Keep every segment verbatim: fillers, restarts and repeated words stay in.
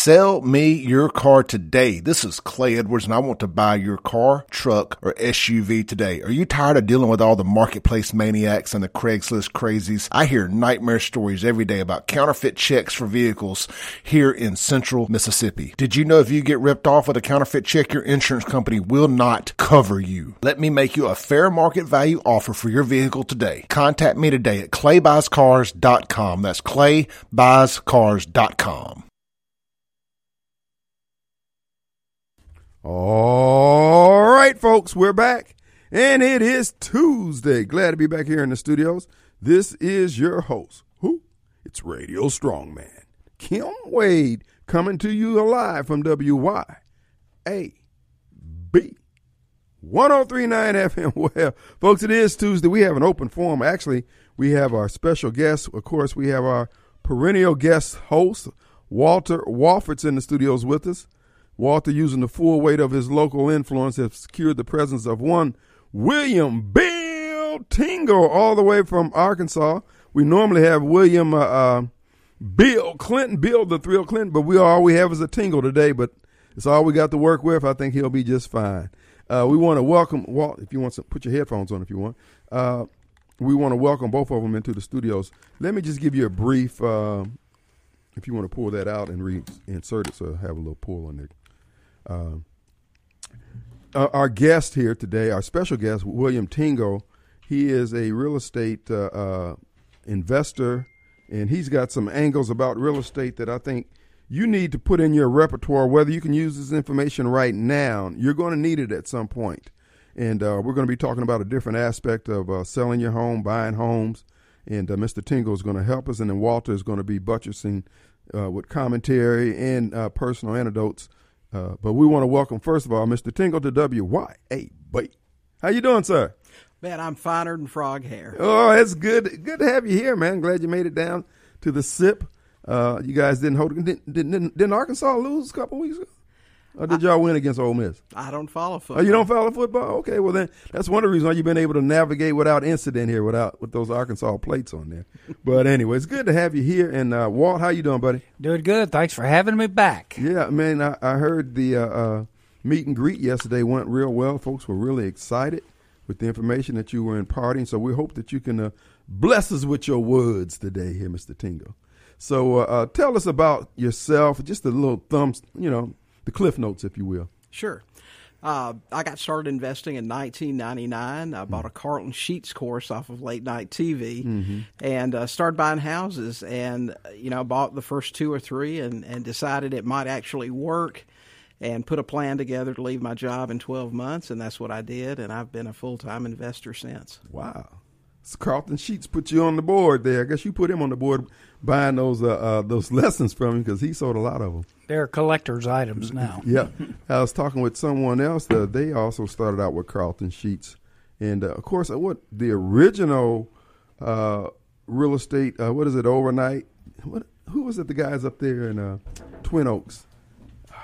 Sell me your car today. This is Clay Edwards, and I want to buy your car, truck, or S U V today. Are you tired of dealing with all the marketplace maniacs and the Craigslist crazies? I hear nightmare stories every day about counterfeit checks for vehicles here in central Mississippi. Did you know if you get ripped off with a counterfeit check, your insurance company will not cover you? Let me make you a fair market value offer for your vehicle today. Contact me today at clay buys cars dot com. That's clay buys cars dot com. All right, folks, we're back, and it is Tuesday. Glad to be back here in the studios. This is your host. Who? It's Radio Strongman, Kim Wade, coming to you live from W Y A B one oh three point nine F M. Well, folks, it is Tuesday. We have an open forum. Actually, we have our special guest. Of course, we have our perennial guest host, Walter Walford's in the studios with us. Walter, using the full weight of his local influence, has secured the presence of one William Bill Tingle all the way from Arkansas. We normally have William uh, uh, Bill Clinton, Bill the Thrill Clinton, but we all we have is a Tingle today, but it's all we got to work with. I think he'll be just fine. Uh, we want to welcome Walt, if you want to put your headphones on if you want. Uh, we want to welcome both of them into the studios. Let me just give you a brief, uh, if you want to pull that out and reinsert it, so I have a little pull on there. Uh, uh, our guest here today, our special guest, William Tingle, he is a real estate uh, uh, investor, and he's got some angles about real estate that I think you need to put in your repertoire, whether you can use this information right now. You're going to need it at some point. And uh, we're going to be talking about a different aspect of uh, selling your home, buying homes, and uh, Mister Tingle is going to help us, and then Walter is going to be buttressing uh, with commentary and uh, personal anecdotes. Uh, but we want to welcome, first of all, Mister Tingle to W Y A B. How you doing, sir? Man, I'm finer than frog hair. Oh, that's good. Good to have you here, man. Glad you made it down to the S I P. Uh, you guys didn't hold it. Didn't, didn't, didn't Arkansas lose a couple weeks ago? Or did y'all win against Ole Miss? I don't follow football. Oh, you don't follow football? Okay, well then that's one of the reasons why you've been able to navigate without incident here, without with those Arkansas plates on there. But anyway, it's good to have you here. And uh, Walt, how you doing, buddy? Doing good. Thanks for having me back. Yeah, man, I, I heard the uh, uh, meet and greet yesterday went real well. Folks were really excited with the information that you were imparting. So we hope that you can uh, bless us with your words today here, Mister Tingle. So uh, uh, tell us about yourself, just a little thumbs, you know, the cliff notes, if you will. Sure. Uh, I got started investing in nineteen ninety-nine. I bought a Carlton Sheets course off of late night T V mm-hmm. and uh, started buying houses. And, you know, bought the first two or three and, and decided it might actually work and put a plan together to leave my job in twelve months. And that's what I did. And I've been a full-time investor since. Wow. So Carlton Sheets put you on the board there. I guess you put him on the board buying those uh, uh, those lessons from him because he sold a lot of them. They're collector's items now. Yeah. I was talking with someone else. Uh, they also started out with Carlton Sheets. And, uh, of course, uh, what the original uh, real estate, uh, what is it, overnight? What? Who was it, the guys up there in uh, Twin Oaks? Oh,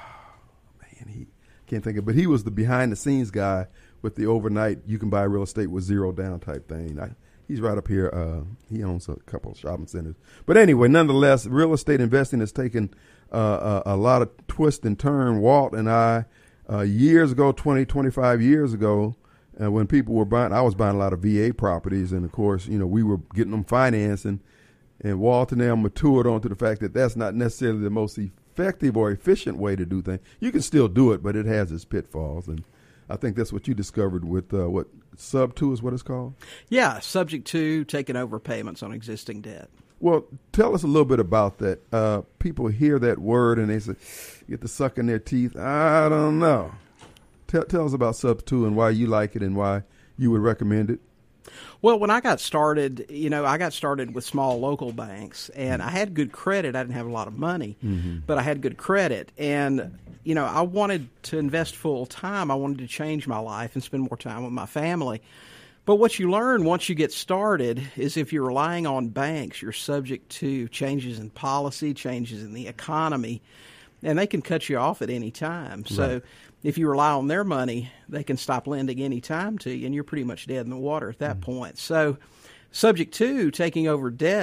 man, he can't think of it. But he was the behind-the-scenes guy with the overnight, you can buy real estate with zero down type thing. I, He's right up here. Uh, he owns a couple of shopping centers. But anyway, nonetheless, real estate investing has taken uh, a, a lot of twist and turn. Walt and I, uh, years ago, twenty, twenty-five years ago, uh, when people were buying, I was buying a lot of V A properties. And, of course, you know, we were getting them financing. And Walt and them matured onto the fact that that's not necessarily the most effective or efficient way to do things. You can still do it, but it has its pitfalls. And I think that's what you discovered with uh, what sub two is what it's called? Yeah, subject to taking over payments on existing debt. Well, tell us a little bit about that. Uh, people hear that word and they say, get the suck in their teeth. I don't know. Tell, tell us about sub two and why you like it and why you would recommend it. Well, when I got started, you know, I got started with small local banks, and I had good credit. I didn't have a lot of money, mm-hmm. but I had good credit. And, you know, I wanted to invest full time. I wanted to change my life and spend more time with my family. But what you learn once you get started is if you're relying on banks, you're subject to changes in policy, changes in the economy, and they can cut you off at any time. So right. if you rely on their money, they can stop lending any time to you, and you're pretty much dead in the water at that mm-hmm. point. So subject to taking over debt,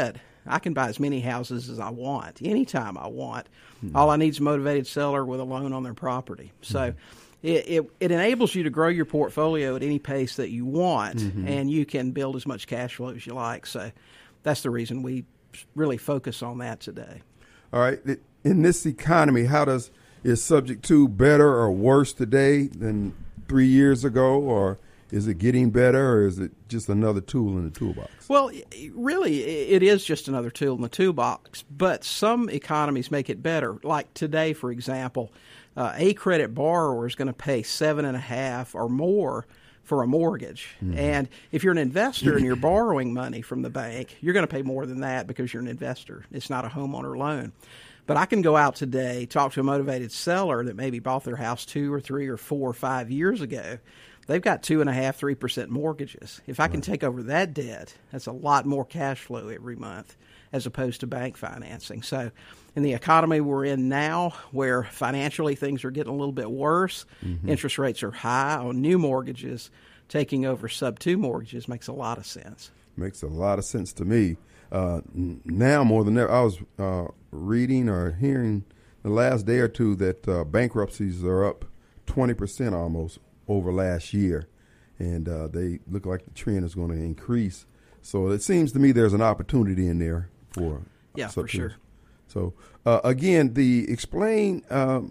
I can buy as many houses as I want, anytime I want. Mm-hmm. All I need is a motivated seller with a loan on their property. So mm-hmm. it, it, it enables you to grow your portfolio at any pace that you want, mm-hmm. and you can build as much cash flow as you like. So that's the reason we really focus on that today. All right. In this economy, how does is Subject to better or worse today than three years ago, or is it getting better, or is it just another tool in the toolbox? Well, really, it is just another tool in the toolbox, but some economies make it better. Like today, for example, uh, a credit borrower is going to pay seven and a half or more for a mortgage. Mm-hmm. And if you're an investor and you're borrowing money from the bank, you're going to pay more than that because you're an investor. It's not a homeowner loan. But I can go out today, talk to a motivated seller that maybe bought their house two or three or four or five years ago. They've got two and a half, three percent mortgages. If I can take over that debt, that's a lot more cash flow every month as opposed to bank financing. So in the economy we're in now, where financially things are getting a little bit worse, mm-hmm. interest rates are high on new mortgages, taking over sub two mortgages makes a lot of sense. Makes a lot of sense to me. Uh, now more than ever, I was uh, reading or hearing the last day or two that uh, bankruptcies are up twenty percent almost over last year, and uh, they look like the trend is going to increase. So it seems to me there's an opportunity in there for yeah, for sure. So uh, again, the explain um,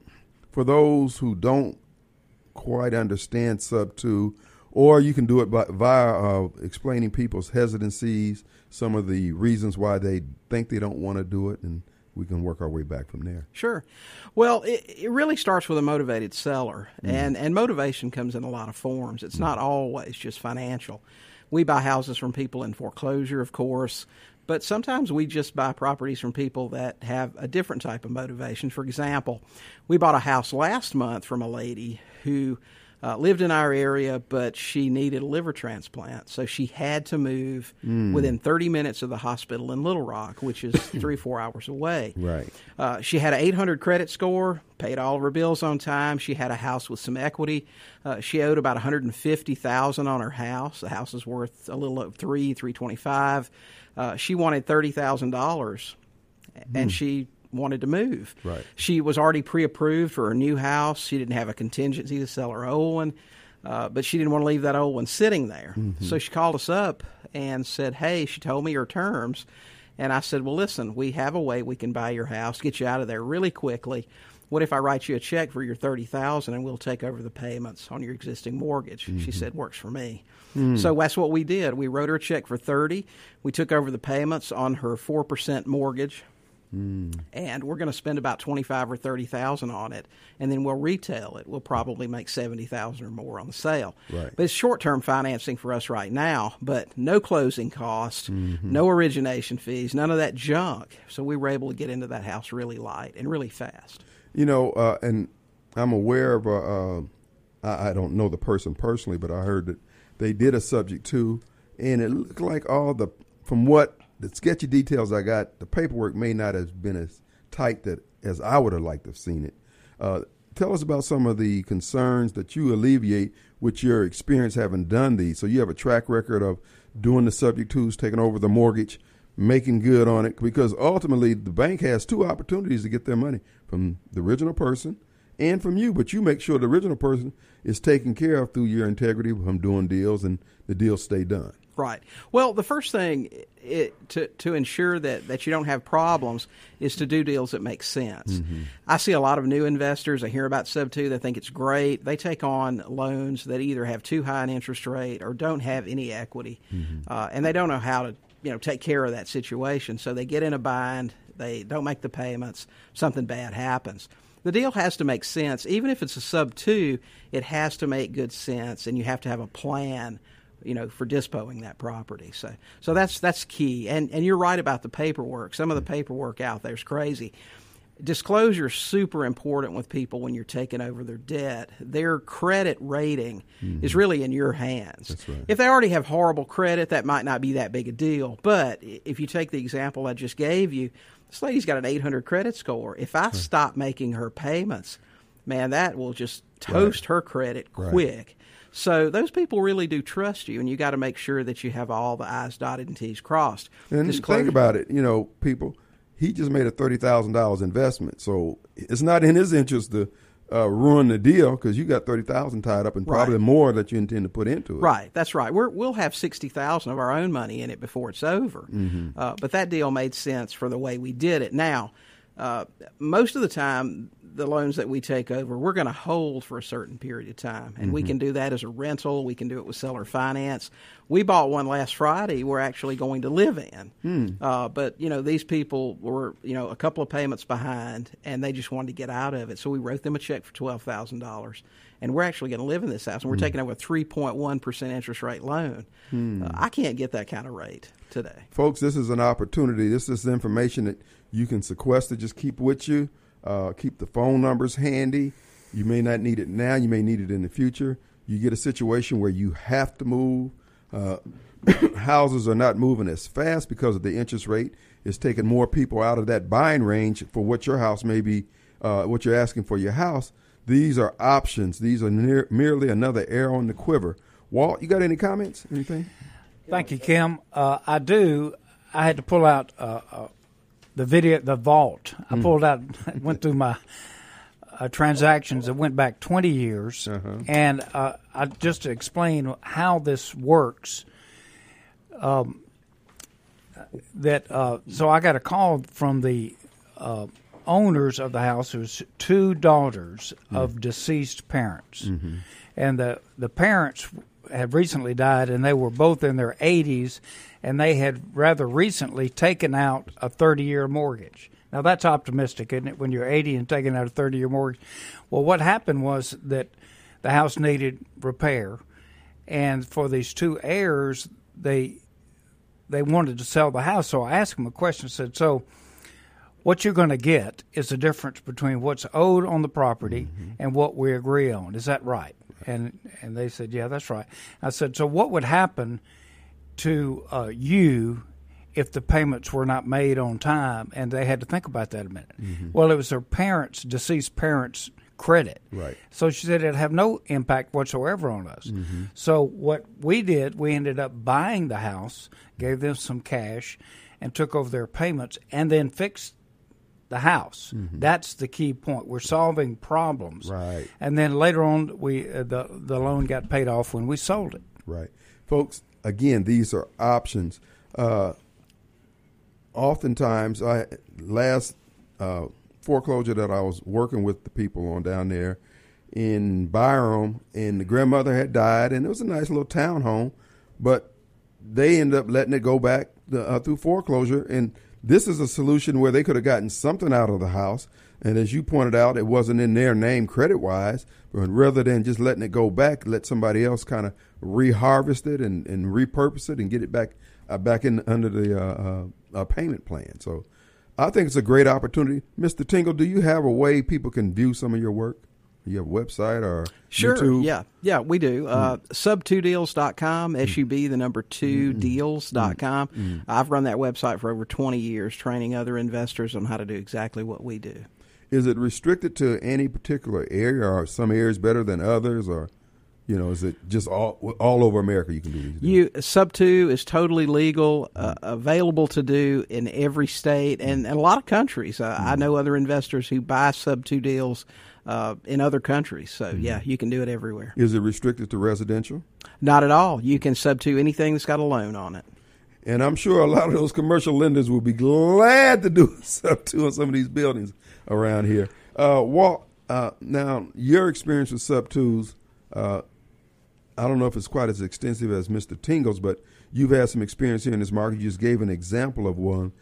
for those who don't quite understand sub two, or you can do it by, via uh, explaining people's hesitancies, some of the reasons why they think they don't want to do it, and we can work our way back from there. Sure. Well, it, it really starts with a motivated seller, mm-hmm. and, and motivation comes in a lot of forms. It's mm-hmm. not always just financial. We buy houses from people in foreclosure, of course, but sometimes we just buy properties from people that have a different type of motivation. For example, we bought a house last month from a lady who Uh, lived in our area, but she needed a liver transplant, so she had to move mm. within thirty minutes of the hospital in Little Rock, which is three, four hours away. Right. Uh, she had an eight hundred credit score, paid all of her bills on time. She had a house with some equity. Uh, she owed about one hundred fifty thousand dollars on her house. The house is worth a little over three, three twenty-five. Uh, she wanted thirty thousand dollars, mm. and she wanted to move. Right. She was already pre-approved for her new house. She didn't have a contingency to sell her old one, uh, but she didn't want to leave that old one sitting there. Mm-hmm. So she called us up and said, hey, she told me her terms. And I said, well, listen, we have a way we can buy your house, get you out of there really quickly. What if I write you a check for your thirty thousand dollars and we'll take over the payments on your existing mortgage? Mm-hmm. She said, works for me. Mm. So that's what we did. We wrote her a check for thirty thousand dollars. We took over the payments on her four percent mortgage. Mm. And we're going to spend about twenty-five or thirty thousand on it, and then we'll retail it. We'll probably make seventy thousand or more on the sale. Right. But it's short-term financing for us right now, but no closing costs, mm-hmm. no origination fees, none of that junk. So we were able to get into that house really light and really fast. You know, uh, and I'm aware of, uh, uh, I, I don't know the person personally, but I heard that they did a subject to, and it looked like all the, from what the sketchy details I got, the paperwork may not have been as tight that as I would have liked to have seen it. Uh, tell us about some of the concerns that you alleviate with your experience having done these. So you have a track record of doing the subject twos, taking over the mortgage, making good on it, because ultimately the bank has two opportunities to get their money from the original person and from you, but you make sure the original person is taken care of through your integrity from doing deals, and the deals stay done. Right. Well, the first thing it, to to ensure that, that you don't have problems is to do deals that make sense. Mm-hmm. I see a lot of new investors. I hear about sub two. They think it's great. They take on loans that either have too high an interest rate or don't have any equity, mm-hmm. uh, and they don't know how to you know take care of that situation. So they get in a bind. They don't make the payments. Something bad happens. The deal has to make sense. Even if it's a sub two, it has to make good sense, and you have to have a plan, you know, for disposing that property. So, so that's that's key. And and you're right about the paperwork. Some of the paperwork out there is crazy. Disclosure is super important with people when you're taking over their debt. Their credit rating mm-hmm. is really in your hands. That's right. If they already have horrible credit, that might not be that big a deal. But if you take the example I just gave you, this lady's got an eight hundred credit score. If I stop making her payments, man, that will just toast right. her credit quick. Right. So those people really do trust you, and you got to make sure that you have all the I's dotted and T's crossed. And Disclosure. think about it, you know, people, he just made a thirty thousand dollars investment. So it's not in his interest to uh, ruin the deal because you got thirty thousand dollars tied up and probably Right. more that you intend to put into it. Right, that's right. We're, we'll have sixty thousand dollars of our own money in it before it's over. Mm-hmm. Uh, but that deal made sense for the way we did it. Now, uh, most of the time, the loans that we take over, we're going to hold for a certain period of time. And Mm-hmm. we can do that as a rental. We can do it with seller finance. We bought one last Friday we're actually going to live in. Hmm. Uh, but, you know, these people were, you know, a couple of payments behind, and they just wanted to get out of it. So we wrote them a check for twelve thousand dollars. And we're actually going to live in this house. And we're Hmm. taking over a three point one percent interest rate loan. Uh, I can't get that kind of rate today. Folks, this is an opportunity. This is information that you can sequester, just keep with you. Uh, keep the phone numbers handy. You may not need it now. You may need it in the future. You get a situation where you have to move. Uh, houses are not moving as fast because of the interest rate. It's taking more people out of that buying range for what your house may be, uh, what you're asking for your house. These are options. These are near, merely another arrow in the quiver. Walt, you got any comments? Anything? Thank you, Kim. Uh, I do. I had to pull out uh, uh, the video, the vault. I pulled out, went through my uh, transactions that went back twenty years, Uh-huh. and uh, I, just to explain how this works. Um, that uh, so I got a call from the uh, owners of the house. There's two daughters of deceased parents, and the the parents had recently died, and they were both in their eighties, and they had rather recently taken out a thirty-year mortgage. Now, that's optimistic, isn't it, when you're eighty and taking out a thirty-year mortgage? Well, what happened was that the house needed repair, and for these two heirs, they they wanted to sell the house. So I asked them a question. I said, so what you're going to get is the difference between what's owed on the property mm-hmm. and what we agree on. Is that right? And and they said, yeah, that's right. I said, so what would happen to uh, you if the payments were not made on time? And they had to think about that a minute. Mm-hmm. Well, it was their parents, deceased parents' credit. Right. So she said it'd have no impact whatsoever on us. Mm-hmm. So what we did, we ended up buying the house, gave them some cash, and took over their payments, and then fixed the house. Mm-hmm. That's the key point. We're solving problems. Right. And then later on, we uh, the the loan got paid off when we sold it. Right. Folks, again, these are options. Uh, oftentimes, I last uh, foreclosure that I was working with the people on down there in Byram, and the grandmother had died, and it was a nice little townhome, but they ended up letting it go back the, uh, through foreclosure, and this is a solution where they could have gotten something out of the house. And as you pointed out, it wasn't in their name credit-wise, but rather than just letting it go back, let somebody else kind of reharvest it and, and repurpose it and get it back uh, back in under the uh, uh, uh, payment plan. So I think it's a great opportunity. Mister Tingle, do you have a way people can view some of your work? You have a website or Sure, YouTube? yeah, yeah, we do. Uh, sub two deals dot com, S U B, the number two, deals dot com. Mm-hmm. I've run that website for over twenty years, training other investors on how to do exactly what we do. Is it restricted to any particular area, or are some areas better than others, or, you know, is it just all all over America you can do these? You Sub two is totally legal, uh, available to do in every state and, and a lot of countries. Uh, mm-hmm. I know other investors who buy Sub two deals uh, in other countries. So, mm-hmm. yeah, you can do it everywhere. Is it restricted to residential? Not at all. You can Sub two anything that's got a loan on it. And I'm sure a lot of those commercial lenders will be glad to do Sub two on some of these buildings around here. Uh, Walt, uh, now, your experience with Sub twos, uh, I don't know if it's quite as extensive as Mister Tingle's, but you've had some experience here in this market. You just gave an example of one.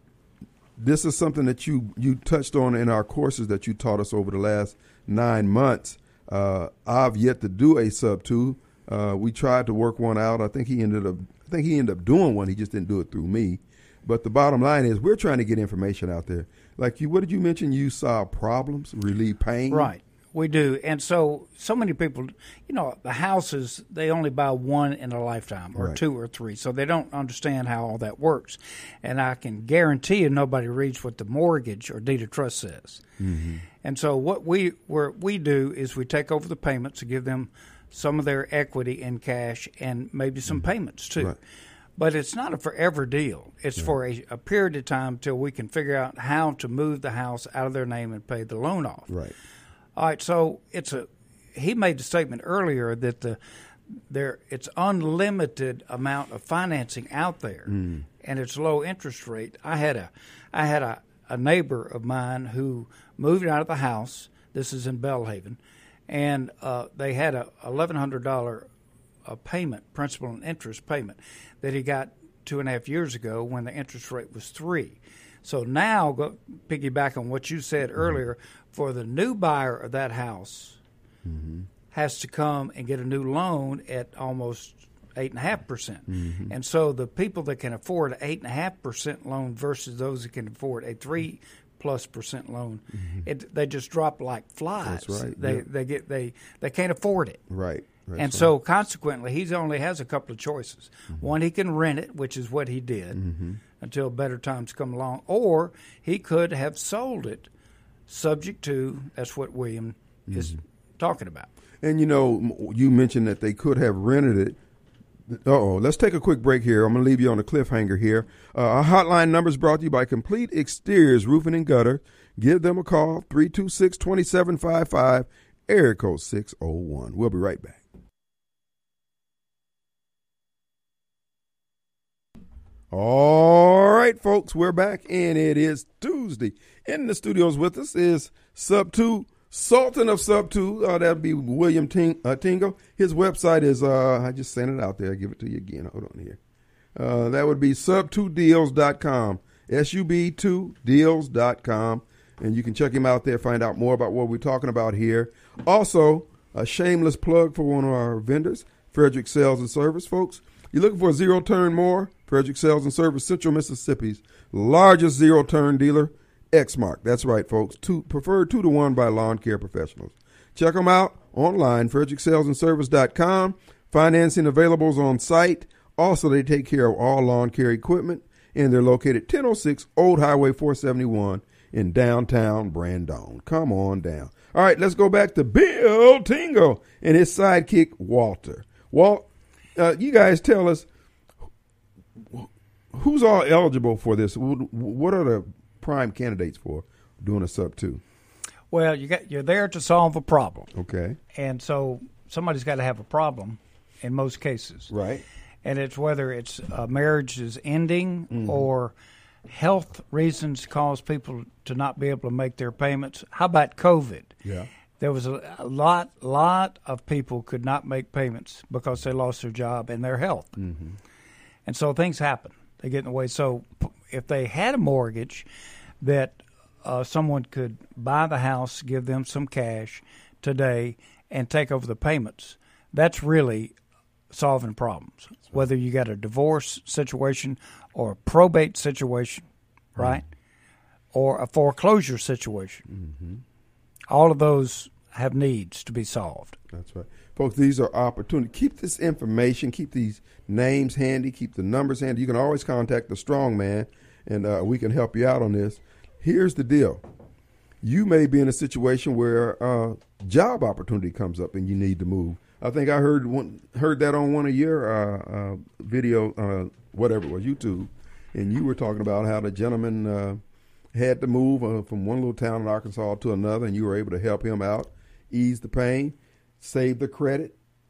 This is something that you, you touched on in our courses that you taught us over the last nine months. Uh, I've yet to do a Sub two. Uh, we tried to work one out. I think he ended up I think he ended up doing one. He just didn't do it through me. But the bottom line is we're trying to get information out there. Like you, what did you mention? You solve problems, relieve pain. Right. We do. And so, so many people, you know, the houses, they only buy one in a lifetime or Right. two or three. So they don't understand how all that works. And I can guarantee you nobody reads what the mortgage or deed of trust says. Mm-hmm. And so what we where we do is we take over the payments and give them some of their equity in cash, and maybe some mm-hmm. payments too. Right. But it's not a forever deal. It's yeah. for a, a period of time till we can figure out how to move the house out of their name and pay the loan off. Right. All right. So it's a. He made the statement earlier that the there it's unlimited amount of financing out there, mm. and it's low interest rate. I had a I had a, a neighbor of mine who moved out of the house. This is in Belhaven, and uh, they had a eleven hundred dollar a payment, principal and interest payment, that he got two and a half years ago when the interest rate was three. So now, go piggyback on what you said mm-hmm. earlier, for the new buyer of that house mm-hmm. has to come and get a new loan at almost eight and a half percent. And so the people that can afford an eight and a half percent loan versus those that can afford a three plus percent loan, mm-hmm. it, they just drop like flies. That's right. They yeah. they get they they can't afford it. Right. That's and right. so consequently, he only has a couple of choices. Mm-hmm. One, he can rent it, which is what he did mm-hmm. until better times come along, or he could have sold it, subject to, that's what William mm-hmm. is talking about. And you know, you mentioned that they could have rented it. Uh-oh, let's take a quick break here. I'm going to leave you on a cliffhanger here. Uh, our hotline number is brought to you by Complete Exteriors Roofing and Gutter. Give them a call, three two six, two seven five five, area code six oh one. We'll be right back. All right, folks, we're back, and it is Tuesday. In the studios with us is Sub two, Sultan of Sub two. Uh, that'd be William Ting- uh, Tingle. His website is, uh, I just sent it out there. I'll give it to you again. Hold on here. Uh, that would be sub two deals dot com, S U B two deals dot com. And you can check him out there, find out more about what we're talking about here. Also, a shameless plug for one of our vendors, Frederick Sales and Service, folks. You're looking for a zero-turn more? Frederick Sales and Service, Central Mississippi's largest zero-turn dealer, Exmark. That's right, folks. Two, preferred two to one by lawn care professionals. Check them out online, frederick sales and service dot com. Financing available on site. Also, they take care of all lawn care equipment, and they're located ten oh six Old Highway four seventy-one in downtown Brandon. Come on down. All right, let's go back to Bill Tingle and his sidekick, Walter. Walt, uh, you guys tell us, who's all eligible for this? What are the prime candidates for doing a sub two? Well, you got you're there to solve a problem. Okay. And so somebody's got to have a problem in most cases. Right. And it's whether it's uh, marriage is ending mm-hmm. or health reasons cause people to not be able to make their payments. How about COVID? Yeah. There was a, a lot, lot of people could not make payments because they lost their job and their health. Mm-hmm. And so things happen. They get in the way. So if they had a mortgage that uh, someone could buy the house, give them some cash today, and take over the payments, that's really solving problems. Right. Whether you got a divorce situation or a probate situation, right, mm-hmm. or a foreclosure situation. Mm-hmm. All of those have needs to be solved. That's right. Folks, these are opportunities. Keep this information, keep these names handy, keep the numbers handy. You can always contact the strong man, and uh, we can help you out on this. Here's the deal. You may be in a situation where uh, job opportunity comes up and you need to move. I think I heard one, heard that on one of your uh, uh, video, uh, whatever it was, YouTube, and you were talking about how the gentleman uh, had to move uh, from one little town in Arkansas to another, and you were able to help him out, ease the pain, save the credit.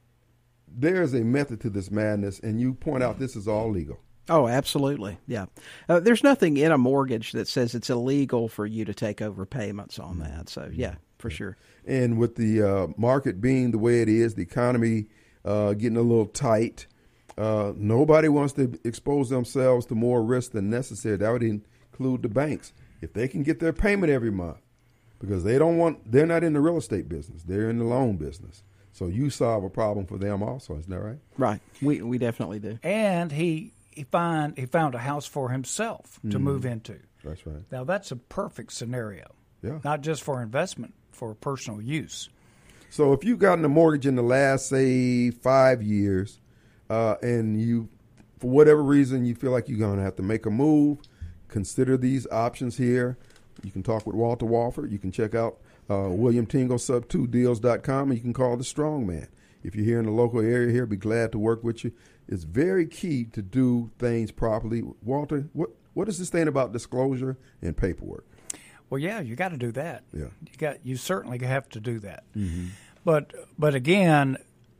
There's a method to this madness, and you point out this is all legal. Oh, absolutely. Yeah. Uh, there's nothing in a mortgage that says it's illegal for you to take over payments on that. So, yeah, for sure. And with the uh, market being the way it is, the economy uh, getting a little tight, uh, nobody wants to expose themselves to more risk than necessary. That would include the banks. If they can get their payment every month, because they don't want, they're not in the real estate business. They're in the loan business. So you solve a problem for them also, isn't that right? Right. We we definitely do. And he he find he found a house for himself to mm. move into. That's right. Now that's a perfect scenario. Yeah. Not just for investment, for personal use. So if you've gotten a mortgage in the last, say, five years, uh, and you, for whatever reason, you feel like you're going to have to make a move, consider these options here. You can talk with Walter Walford. You can check out uh, William Tingle, sub two deals dot com, and you can call the strong man. If you're here in the local area here, be glad to work with you. It's very key to do things properly. Walter, what what is this thing about disclosure and paperwork? Well, yeah, you got to do that. Yeah, you got you certainly have to do that. Mm-hmm. But but again,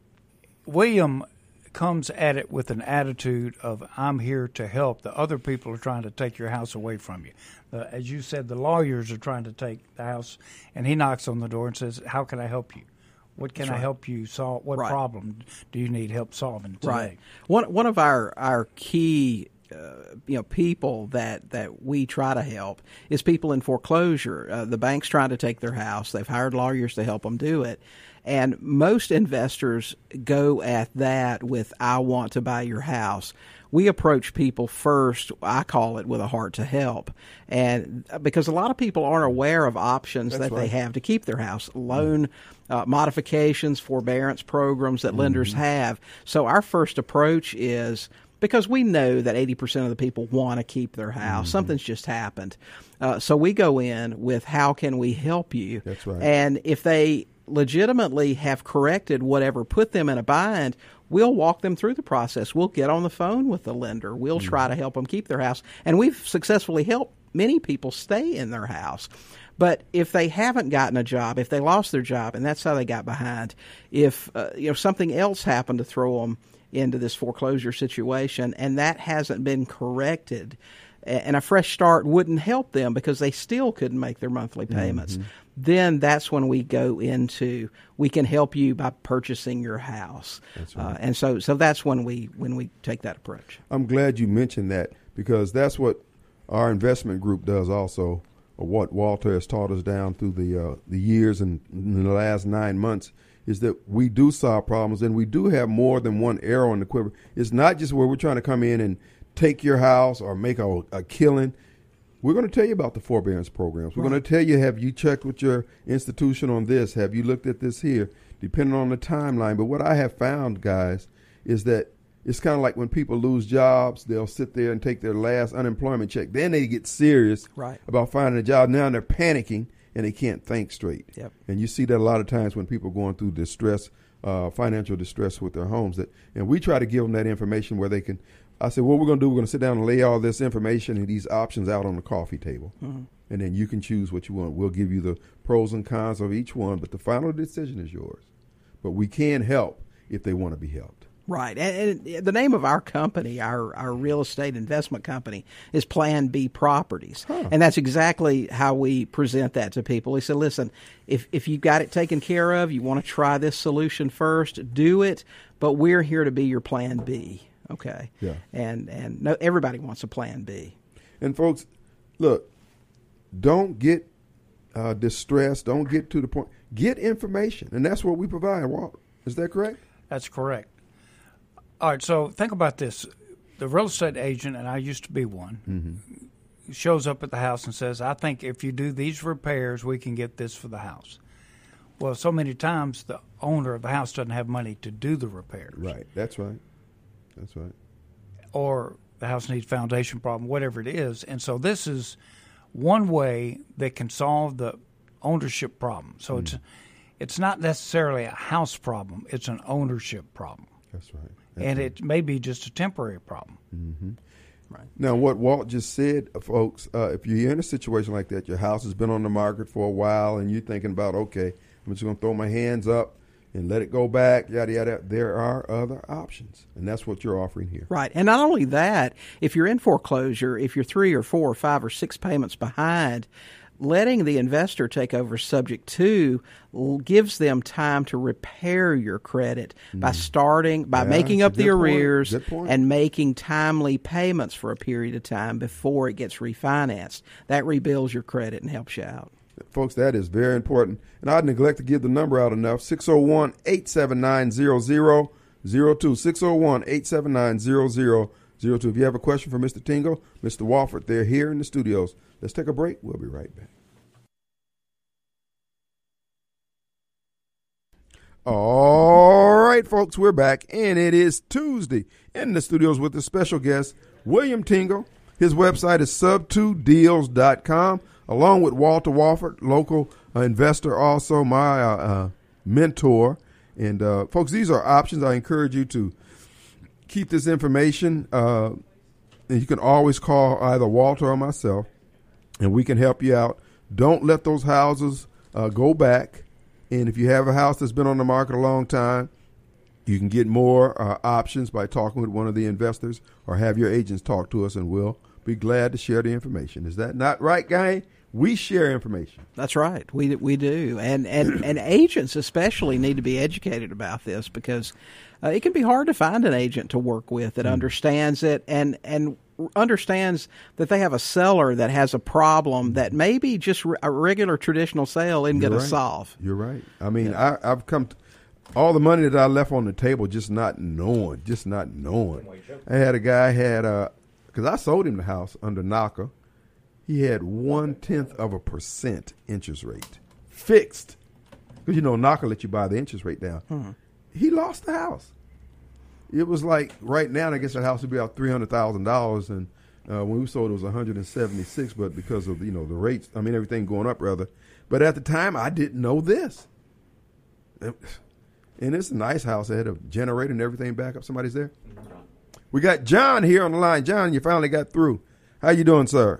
William comes at it with an attitude of I'm here to help. The other people are trying to take your house away from you. Uh, as you said, the lawyers are trying to take the house, and he knocks on the door and says, "How can I help you? What can That's I right. help you solve? What Right. problem do you need help solving today?" Right. One one of our our key uh, you know people that that we try to help is people in foreclosure. Uh, the bank's trying to take their house. They've hired lawyers to help them do it. And most investors go at that with, I want to buy your house. We approach people first, I call it, with a heart to help. And because a lot of people aren't aware of options That's that right. they have to keep their house, loan uh, modifications, forbearance programs that lenders Mm-hmm. have. So our first approach is, because we know that eighty percent of the people want to keep their house. Mm-hmm. Something's just happened. Uh, so we go in with, how can we help you? That's right. And if they legitimately have corrected whatever put them in a bind, we'll walk them through the process. We'll get on the phone with the lender. We'll Mm-hmm. try to help them keep their house. And we've successfully helped many people stay in their house. But if they haven't gotten a job, if they lost their job, and that's how they got behind, if uh, you know something else happened to throw them into this foreclosure situation and that hasn't been corrected, and a fresh start wouldn't help them because they still couldn't make their monthly payments, Mm-hmm. then that's when we go into, we can help you by purchasing your house. That's right. Uh, and so so that's when we when we take that approach. I'm glad you mentioned that, because that's what our investment group does also, or what Walter has taught us down through the uh, the years and in the last nine months, is that we do solve problems, and we do have more than one arrow in the quiver. It's not just where we're trying to come in and take your house or make a, a killing. We're going to tell you about the forbearance programs. We're Right. going to tell you, have you checked with your institution on this? Have you looked at this here? Depending on the timeline. But what I have found, guys, is that it's kind of like when people lose jobs, they'll sit there and take their last unemployment check. Then they get serious Right. about finding a job. Now they're panicking and they can't think straight. Yep. And you see that a lot of times when people are going through distress, uh, financial distress with their homes. That, and we try to give them that information where they can. I said, what we're going to do, we're going to sit down and lay all this information and these options out on the coffee table. Mm-hmm. And then you can choose what you want. We'll give you the pros and cons of each one, but the final decision is yours. But we can help if they want to be helped. Right. And, and the name of our company, our, our real estate investment company, is Plan B Properties. Huh. And that's exactly how we present that to people. We said, listen, if, if you've got it taken care of, you want to try this solution first, do it, but we're here to be your Plan B. Okay. Yeah. And, and no, everybody wants a Plan B. And folks, look, don't get uh, distressed. Don't get to the point. Get information. And that's what we provide, Walt. Is that correct? That's correct. All right, so think about this. The real estate agent, and I used to be one, Mm-hmm. shows up at the house and says, I think if you do these repairs, we can get this for the house. Well, so many times the owner of the house doesn't have money to do the repairs. Right. That's right. That's right. Or the house needs foundation problem, whatever it is. And so this is one way that can solve the ownership problem. So mm. it's it's not necessarily a house problem. It's an ownership problem. That's right. That's and right. it may be just a temporary problem. Mm-hmm. Right. Now, what Walt just said, folks, uh, if you're in a situation like that, your house has been on the market for a while, and you're thinking about, okay, I'm just going to throw my hands up and let it go back, yada, yada, there are other options. And that's what you're offering here. Right. And not only that, if you're in foreclosure, if you're three or four or five or six payments behind, letting the investor take over subject to gives them time to repair your credit mm. by starting, by yeah, making up the arrears and making timely payments for a period of time before it gets refinanced. That rebuilds your credit and helps you out. Folks, that is very important. And I'd neglect to give the number out enough. six oh one, eight seven nine, zero zero zero two. six oh one, eight seven nine, zero zero zero two. If you have a question for Mister Tingle, Mister Wofford, they're here in the studios. Let's take a break. We'll be right back. All right, folks, we're back, and it is Tuesday in the studios with a special guest, William Tingle. His website is sub two deals dot com, along with Walter Wofford, local uh, investor, also my uh, uh, mentor. And uh, folks, these are options. I encourage you to keep this information. Uh, and you can always call either Walter or myself, and we can help you out. Don't let those houses uh, go back. And if you have a house that's been on the market a long time, you can get more uh, options by talking with one of the investors, or have your agents talk to us, and we'll be glad to share the information. Is that not right, Guy? We share information. That's right. We we do, and and, and agents especially need to be educated about this, because uh, it can be hard to find an agent to work with that mm. understands it and and understands that they have a seller that has a problem that maybe just a regular traditional sale isn't going right. to solve. You're right. I mean, yeah. I, I've come to, all the money that I left on the table, just not knowing, just not knowing. I had a guy had a because I sold him the house under NACA. He had one tenth of a percent interest rate fixed. Because, you know, NACA let you buy the interest rate down. Hmm. He lost the house. It was like right now, I guess that house would be about three hundred thousand dollars. And uh, when we sold it, it was one hundred seventy-six. But because of, you know, the rates, I mean, everything going up rather. But at the time, I didn't know this. And it's a nice house. It had a generator and everything back up. Somebody's there? We got John here on the line. John, you finally got through. How you doing, sir?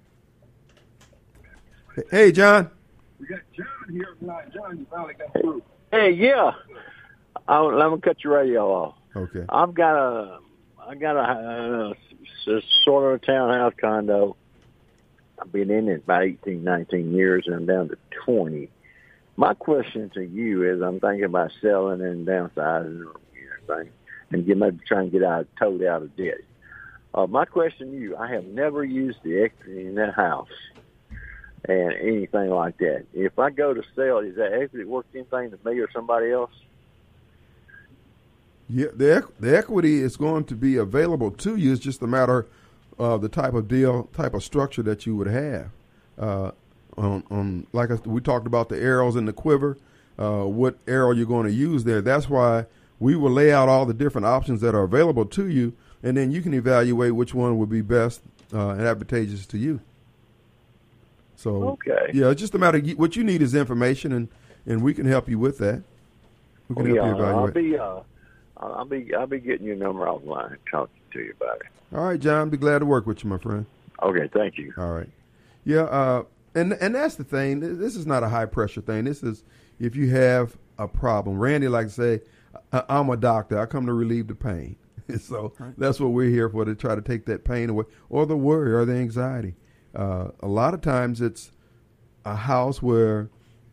Hey, John. We got John here on the line. John, you finally got through. Hey, yeah. I'll, let me cut your radio off. Okay. I've got a, I got a, a, a sort of a townhouse condo. I've been in it about eighteen, nineteen years, and I'm down to twenty. My question to you is, I'm thinking about selling and downsizing or anything, and get, maybe try and get out, totally out of debt. Uh, my question to you, I have never used the equity in that house and anything like that. If I go to sell, is that equity worth anything to me or somebody else? Yeah, the the equity is going to be available to you. It's just a matter of the type of deal, type of structure that you would have. Uh, on, on like I, we talked about the arrows in the quiver, uh, what arrow you're going to use there. That's why we will lay out all the different options that are available to you, and then you can evaluate which one would be best uh, and advantageous to you. So, okay. yeah, it's just a matter of what you need is information, and, and we can help you with that. We can oh, help yeah, you evaluate. I'll be, uh, I'll be, I'll be getting your number offline and talking to you about it. All right, John, I'll be glad to work with you, my friend. Okay, thank you. All right. Yeah, uh, and and that's the thing. This is not a high-pressure thing. This is if you have a problem. Randy likes to say, I'm a doctor. I come to relieve the pain. So right. That's what we're here for, to try to take that pain away, or the worry or the anxiety. Uh, a lot of times it's a house where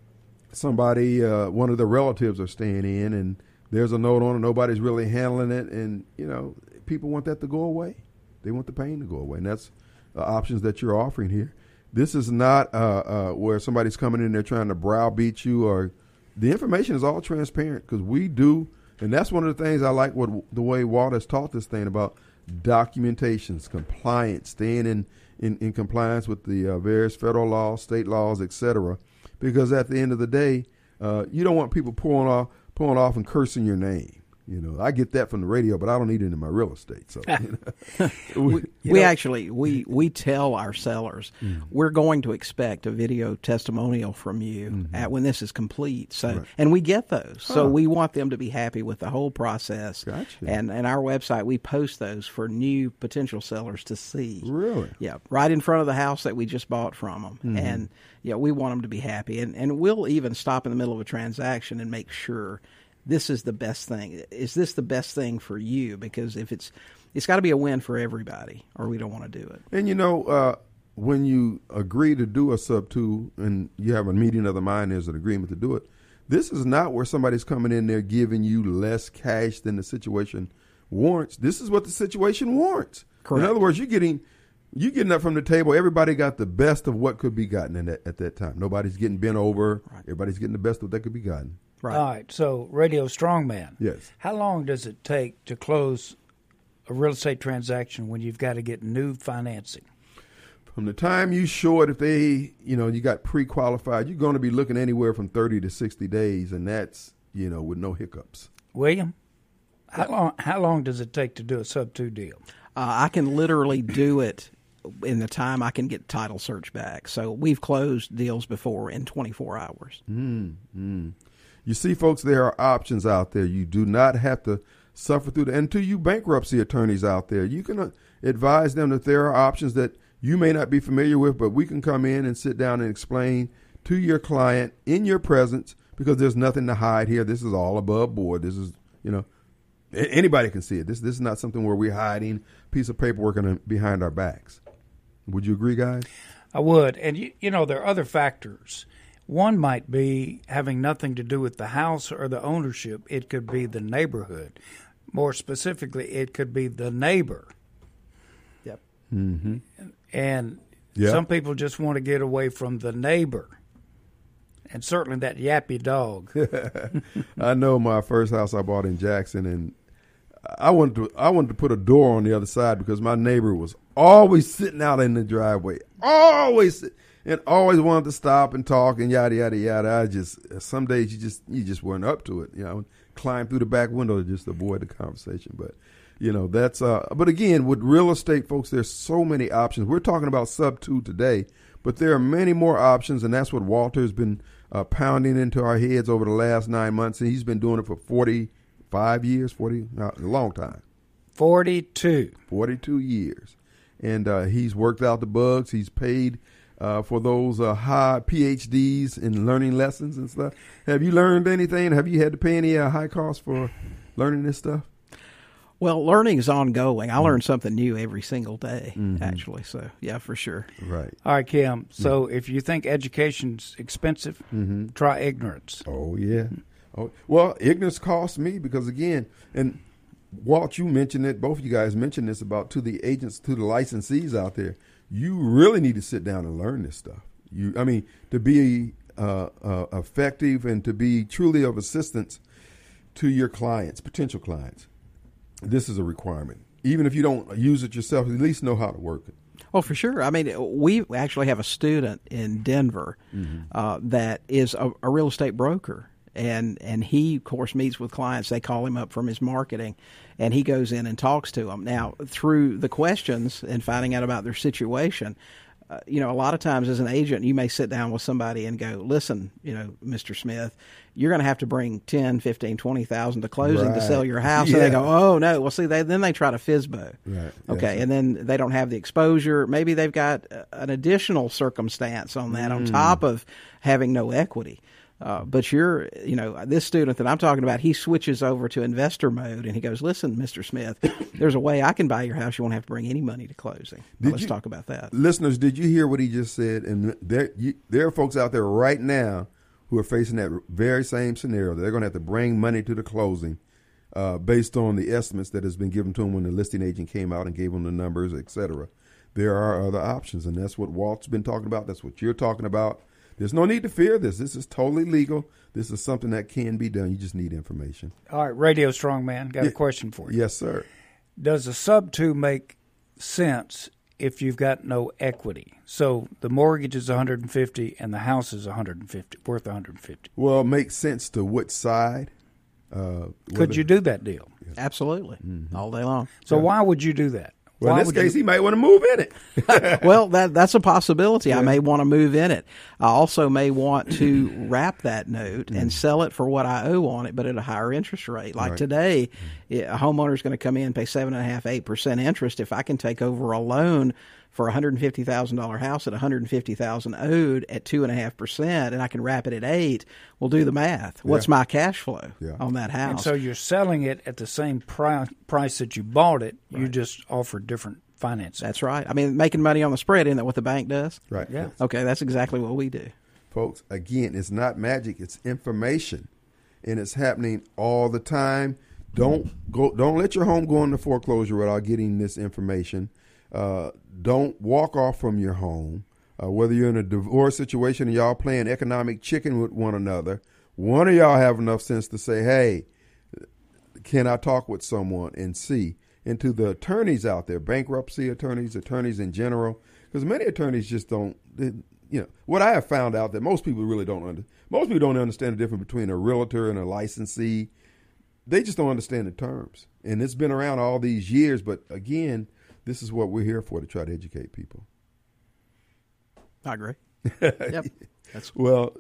somebody, uh, one of the relatives are staying in, and there's a note on it, nobody's really handling it, and, you know, people want that to go away. They want the pain to go away, and that's the options that you're offering here. This is not uh, uh, where somebody's coming in there trying to browbeat you, or the information is all transparent, because we do, and that's one of the things I like what the way Walt has taught this thing about documentations, compliance, staying in, in, in compliance with the uh, various federal laws, state laws, et cetera. Because at the end of the day, uh, you don't want people pulling off, pulling off and cursing your name. You know, I get that from the radio, but I don't need it in my real estate. So, you know, we, we know. actually we we tell our sellers mm. we're going to expect a video testimonial from you mm-hmm. at when this is complete. So, right. and we get those. Huh. So we want them to be happy with the whole process. Gotcha. And and our website, we post those for new potential sellers to see. Really? Yeah, right in front of the house that we just bought from them. Mm-hmm. And yeah, we want them to be happy. And and we'll even stop in the middle of a transaction and make sure this is the best thing. Is this the best thing for you? Because if it's, it's got to be a win for everybody, or we don't want to do it. And you know, uh, when you agree to do a sub two, and you have a meeting of the mind, there's an agreement to do it. This is not where somebody's coming in there giving you less cash than the situation warrants. This is what the situation warrants. Correct. In other words, you're getting, you getting up from the table. Everybody got the best of what could be gotten in that, at that time. Nobody's getting bent over. Right. Everybody's getting the best of what that could be gotten. Right. All right. So, Radio Strongman. Yes. How long does it take to close a real estate transaction when you've got to get new financing? From the time you show it, if they, you know, you got pre-qualified, you're going to be looking anywhere from thirty to sixty days, and that's, you know, with no hiccups. William, how long? How long does it take to do a sub two deal? Uh, I can literally do it in the time I can get title search back. So we've closed deals before in twenty-four hours. Mm, mm. You see, folks, there are options out there. You do not have to suffer through the, and to you bankruptcy attorneys out there, you can uh, advise them that there are options that you may not be familiar with, but we can come in and sit down and explain to your client in your presence, because there's nothing to hide here. This is all above board. This is, you know, anybody can see it. This this is not something where we're hiding a piece of paperwork in, behind our backs. Would you agree, guys? I would. And, you, you know, there are other factors. One might be having nothing to do with the house or the ownership. It could be the neighborhood. More specifically, it could be the neighbor. Yep. Mm-hmm. And Yep. some people just want to get away from the neighbor. And certainly that yappy dog. I know my first house I bought in Jackson, and I wanted to I wanted to put a door on the other side because my neighbor was always sitting out in the driveway, always sit, and always wanted to stop and talk and yada yada yada. I just some days you just you just weren't up to it, you know. Climb through the back window to just avoid the conversation, but you know that's. Uh, but again, with real estate, folks, there's so many options. We're talking about sub two today, but there are many more options, and that's what Walter's been uh, pounding into our heads over the last nine months, and he's been doing it for forty-five years, forty, uh, a long time. forty-two. forty-two years. And uh, he's worked out the bugs. He's paid uh, for those uh, high P H Ds in learning lessons and stuff. Have you learned anything? Have you had to pay any uh, high costs for learning this stuff? Well, learning is ongoing. I learn something new every single day, mm-hmm. actually. So, yeah, for sure. Right. All right, Kim. So yeah. if you think education's expensive, mm-hmm. try ignorance. Oh, yeah. Oh, well, ignorance costs me because, again, and Walt, you mentioned it, both of you guys mentioned this about to the agents, to the licensees out there. You really need to sit down and learn this stuff. You, I mean, to be uh, uh, effective and to be truly of assistance to your clients, potential clients. This is a requirement. Even if you don't use it yourself, at least know how to work it. Oh, for sure. I mean, we actually have a student in Denver mm-hmm. uh, that is a, a real estate broker. And and he, of course, meets with clients. They call him up from his marketing, and he goes in and talks to them. Now, through the questions and finding out about their situation, uh, you know, a lot of times as an agent, you may sit down with somebody and go, listen, you know, Mister Smith, you're going to have to bring ten, fifteen, twenty thousand to closing right. to sell your house. Yeah. And they go, oh, no. Well, see, they, then they try to F S B O. Right. Okay, yes. And then they don't have the exposure. Maybe they've got an additional circumstance on that mm. on top of having no equity. Uh, but you're, you know, this student that I'm talking about, he switches over to investor mode, and he goes, listen, Mister Smith, there's a way I can buy your house. You won't have to bring any money to closing. Well, let's you, talk about that. Listeners, did you hear what he just said? And there, you, there are folks out there right now who are facing that very same scenario. They're going to have to bring money to the closing uh, based on the estimates that has been given to them when the listing agent came out and gave them the numbers, et cetera. There are other options, and that's what Walt's been talking about. That's what you're talking about. There's no need to fear this. This is totally legal. This is something that can be done. You just need information. All right, Radio Strongman, got yeah. a question for you. Yes, sir. Does a sub two make sense if you've got no equity? So the mortgage is one hundred fifty and the house is one hundred fifty, worth one hundred fifty. Well, it makes sense to what side? Uh, Could you do that deal? Yes. Absolutely, mm-hmm. all day long. So yeah. why would you do that? Well, Why in this case, you... he might want to move in it. Well, that that's a possibility. Yeah. I may want to move in it. I also may want to wrap that note mm. and sell it for what I owe on it, but at a higher interest rate. Like right. today, a homeowner is going to come in and pay seven and a half, eight percent interest. If I can take over a loan for a one hundred fifty thousand dollars house at one hundred fifty thousand dollars owed at two and a half percent, and I can wrap it at eight, we'll do the math. What's yeah. my cash flow yeah. on that house? And so you're selling it at the same pri- price that you bought it. Right. You just offer different financing. That's right. I mean, making money on the spread, isn't that what the bank does? Right. Yeah. Okay, that's exactly what we do. Folks, again, it's not magic. It's information, and it's happening all the time. Don't go. Don't let your home go into foreclosure without getting this information. Uh, don't walk off from your home. Uh, whether you're in a divorce situation and y'all playing economic chicken with one another, one of y'all have enough sense to say, hey, can I talk with someone and see? And to the attorneys out there, bankruptcy attorneys, attorneys in general, because many attorneys just don't, they, you know, what I have found out that most people really don't under, most people don't understand the difference between a realtor and a licensee. They just don't understand the terms. And it's been around all these years, but again, this is what we're here for, to try to educate people. I agree. Yep. That's well,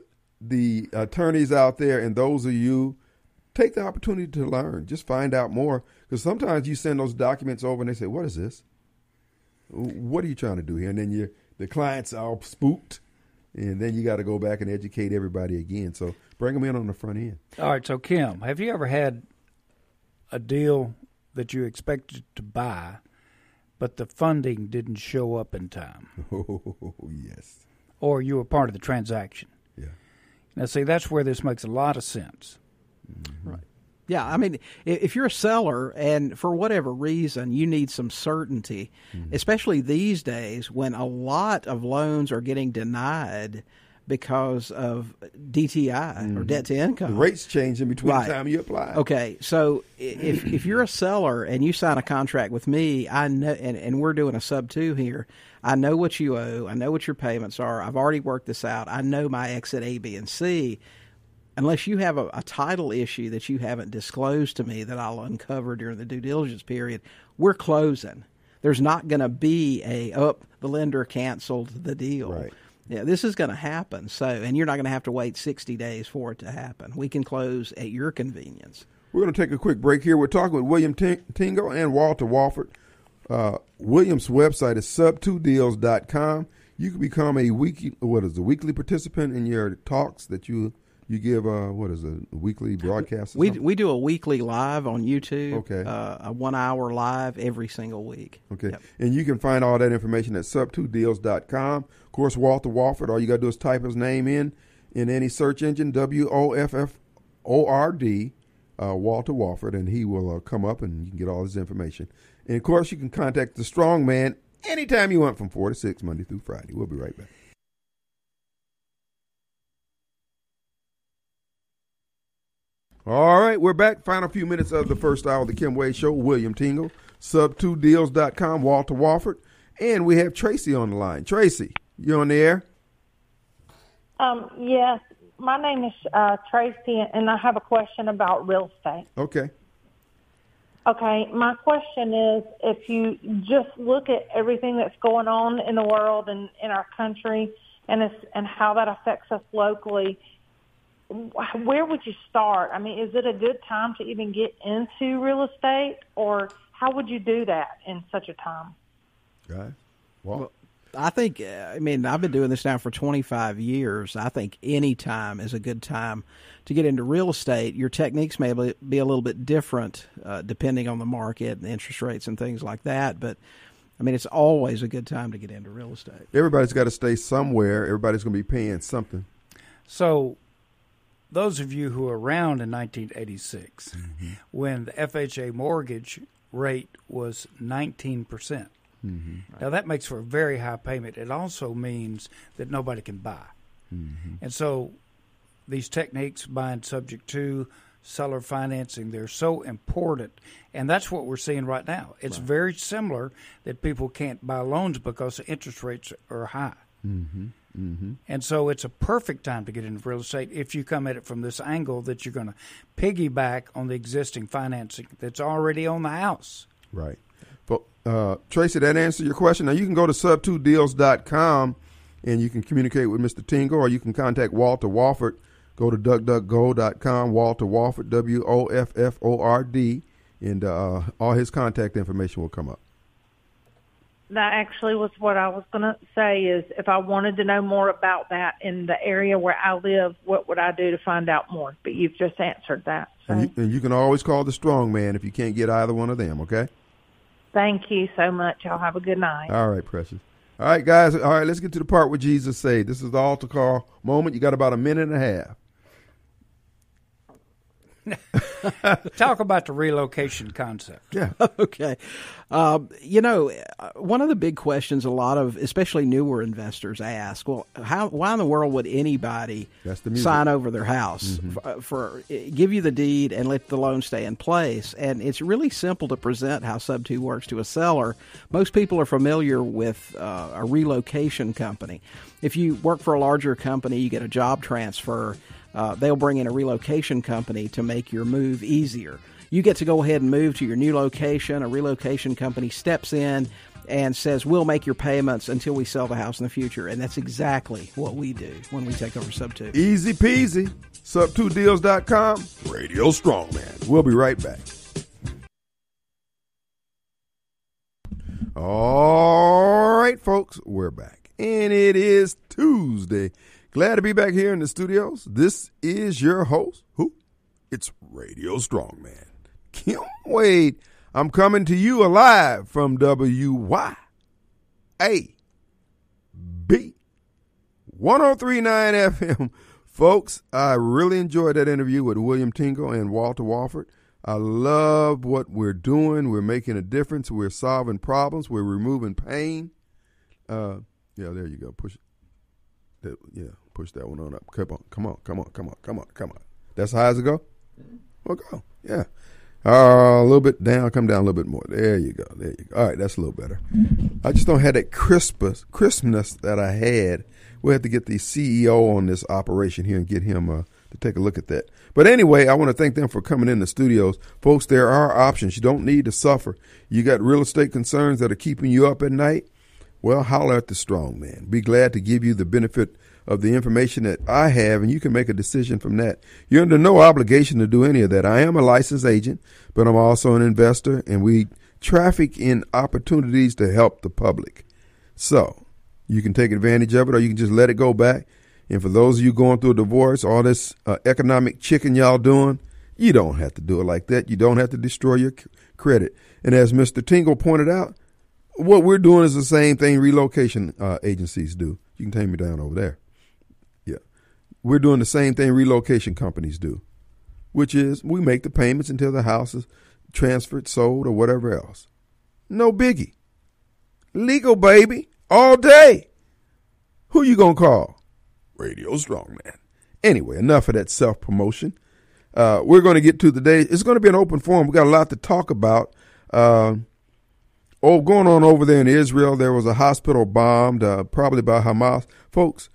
the attorneys out there and those of you, take the opportunity to learn. Just find out more. Because sometimes you send those documents over and they say, what is this? What are you trying to do here? And then you the client's all spooked. And then you got to go back and educate everybody again. So bring them in on the front end. All right. So, Kim, have you ever had a deal that you expected to buy, but the funding didn't show up in time? Oh, yes. Or you were part of the transaction? Yeah. Now, see, that's where this makes a lot of sense. Mm-hmm. Right. Yeah, I mean, if you're a seller and for whatever reason you need some certainty, mm-hmm. especially these days when a lot of loans are getting denied because of D T I mm-hmm. or debt to income. The rates changing between right. the time you apply. Okay, so if if you're a seller and you sign a contract with me, I know, and, and we're doing a sub two here, I know what you owe, I know what your payments are, I've already worked this out, I know my exit A, B, and C. Unless you have a, a title issue that you haven't disclosed to me that I'll uncover during the due diligence period, we're closing. There's not going to be a, oh, the lender canceled the deal. Right. Yeah, this is going to happen. So, and you're not going to have to wait sixty days for it to happen. We can close at your convenience. We're going to take a quick break here. We're talking with William Tingle and Walter Wofford. Uh, William's website is sub two deals dot com. You can become a weekly, what is a weekly participant in your talks that you You give, uh, what is it, a weekly broadcast? Or we something? we do a weekly live on YouTube. Okay. Uh, a one hour live every single week. Okay. Yep. And you can find all that information at sub two deals dot com. Of course, Walter Wofford, all you got to do is type his name in in any search engine, W O F F O R D, uh, Walter Wofford, and he will uh, come up and you can get all his information. And, of course, you can contact the Strong Man anytime you want from four to six, Monday through Friday. We'll be right back. All right, we're back. Final few minutes of the first hour of the Kim Wade Show. William Tingle, sub two deals dot com, Walter Wofford, and we have Tracy on the line. Tracy, you on the air? Um, yes, my name is uh, Tracy, and I have a question about real estate. Okay. Okay, my question is, if you just look at everything that's going on in the world and in our country, and it's, and how that affects us locally, where would you start? I mean, is it a good time to even get into real estate, or how would you do that in such a time? Guys, well, well, I think, I mean, I've been doing this now for twenty-five years. I think any time is a good time to get into real estate. Your techniques may be a little bit different uh, depending on the market and the interest rates and things like that, but I mean, it's always a good time to get into real estate. Everybody's got to stay somewhere. Everybody's going to be paying something. So those of you who were around in nineteen eighty-six, mm-hmm. when the F H A mortgage rate was nineteen percent. Mm-hmm. Now, that makes for a very high payment. It also means that nobody can buy. Mm-hmm. And so these techniques, buying subject to, seller financing, they're so important. And that's what we're seeing right now. It's right. very similar that people can't buy loans because the interest rates are high. Mm-hmm. Mm-hmm. And so it's a perfect time to get into real estate if you come at it from this angle that you're going to piggyback on the existing financing that's already on the house. Right. But, uh, Tracy, that answer your question. Now, you can go to sub two deals dot com and you can communicate with Mister Tingle, or you can contact Walter Wofford. Go to duck duck go dot com, Walter Wofford, W O F F O R D, and uh, all his contact information will come up. That actually was what I was going to say, is if I wanted to know more about that in the area where I live, what would I do to find out more? But you've just answered that. So. And, you, and you can always call the Strong Man if you can't get either one of them, okay? Thank you so much. Y'all have a good night. All right, precious. All right, guys. All right, let's get to the part where Jesus said. This is the altar call moment. You got about a minute and a half. Talk about the relocation concept. Yeah. Okay. Um, you know, one of the big questions a lot of, especially newer investors, ask, well, how, why in the world would anybody sign over their house mm-hmm. for, for give you the deed and let the loan stay in place? And it's really simple to present how Sub two works to a seller. Most people are familiar with uh, a relocation company. If you work for a larger company, you get a job transfer. Uh, they'll bring in a relocation company to make your move easier. You get to go ahead and move to your new location. A relocation company steps in and says we'll make your payments until we sell the house in the future. And that's exactly what we do when we take over Sub two. Easy peasy. sub two deals dot com, Radio Strongman. We'll be right back. All right, folks, we're back. And it is Tuesday. Glad to be back here in the studios. This is your host. Who? It's Radio Strongman. Kim Wade. I'm coming to you alive from W Y A B one oh three point nine F M. Folks, I really enjoyed that interview with William Tingle and Walter Walford. I love what we're doing. We're making a difference. We're solving problems. We're removing pain. Uh, yeah, there you go. Push it. That, yeah, push that one on up. Come on, come on, come on, come on, come on, come on. That's how high as it go? Well, go. Yeah. Uh, a little bit down. Come down a little bit more. There you go. There you go. All right, that's a little better. I just don't have that crispness, crispness that I had. We'll have to get the C E O on this operation here and get him uh, to take a look at that. But anyway, I want to thank them for coming in the studios. Folks, there are options. You don't need to suffer. You got real estate concerns that are keeping you up at night? Well, holler at the strong man. Be glad to give you the benefit of the information that I have, and you can make a decision from that. You're under no obligation to do any of that. I am a licensed agent, but I'm also an investor, and we traffic in opportunities to help the public. So you can take advantage of it, or you can just let it go back. And for those of you going through a divorce, all this uh, economic chicken y'all doing, you don't have to do it like that. You don't have to destroy your c- credit. And as Mister Tingle pointed out, what we're doing is the same thing relocation uh, agencies do. You can take me down over there. Yeah. We're doing the same thing relocation companies do, which is we make the payments until the house is transferred, sold, or whatever else. No biggie. Legal, baby, all day. Who you going to call? Radio Strongman. Anyway, enough of that self-promotion. Uh, we're going to get to the day. It's going to be an open forum. We got a lot to talk about. Uh, oh, going on over there in Israel, there was a hospital bombed, uh, probably by Hamas. Folks,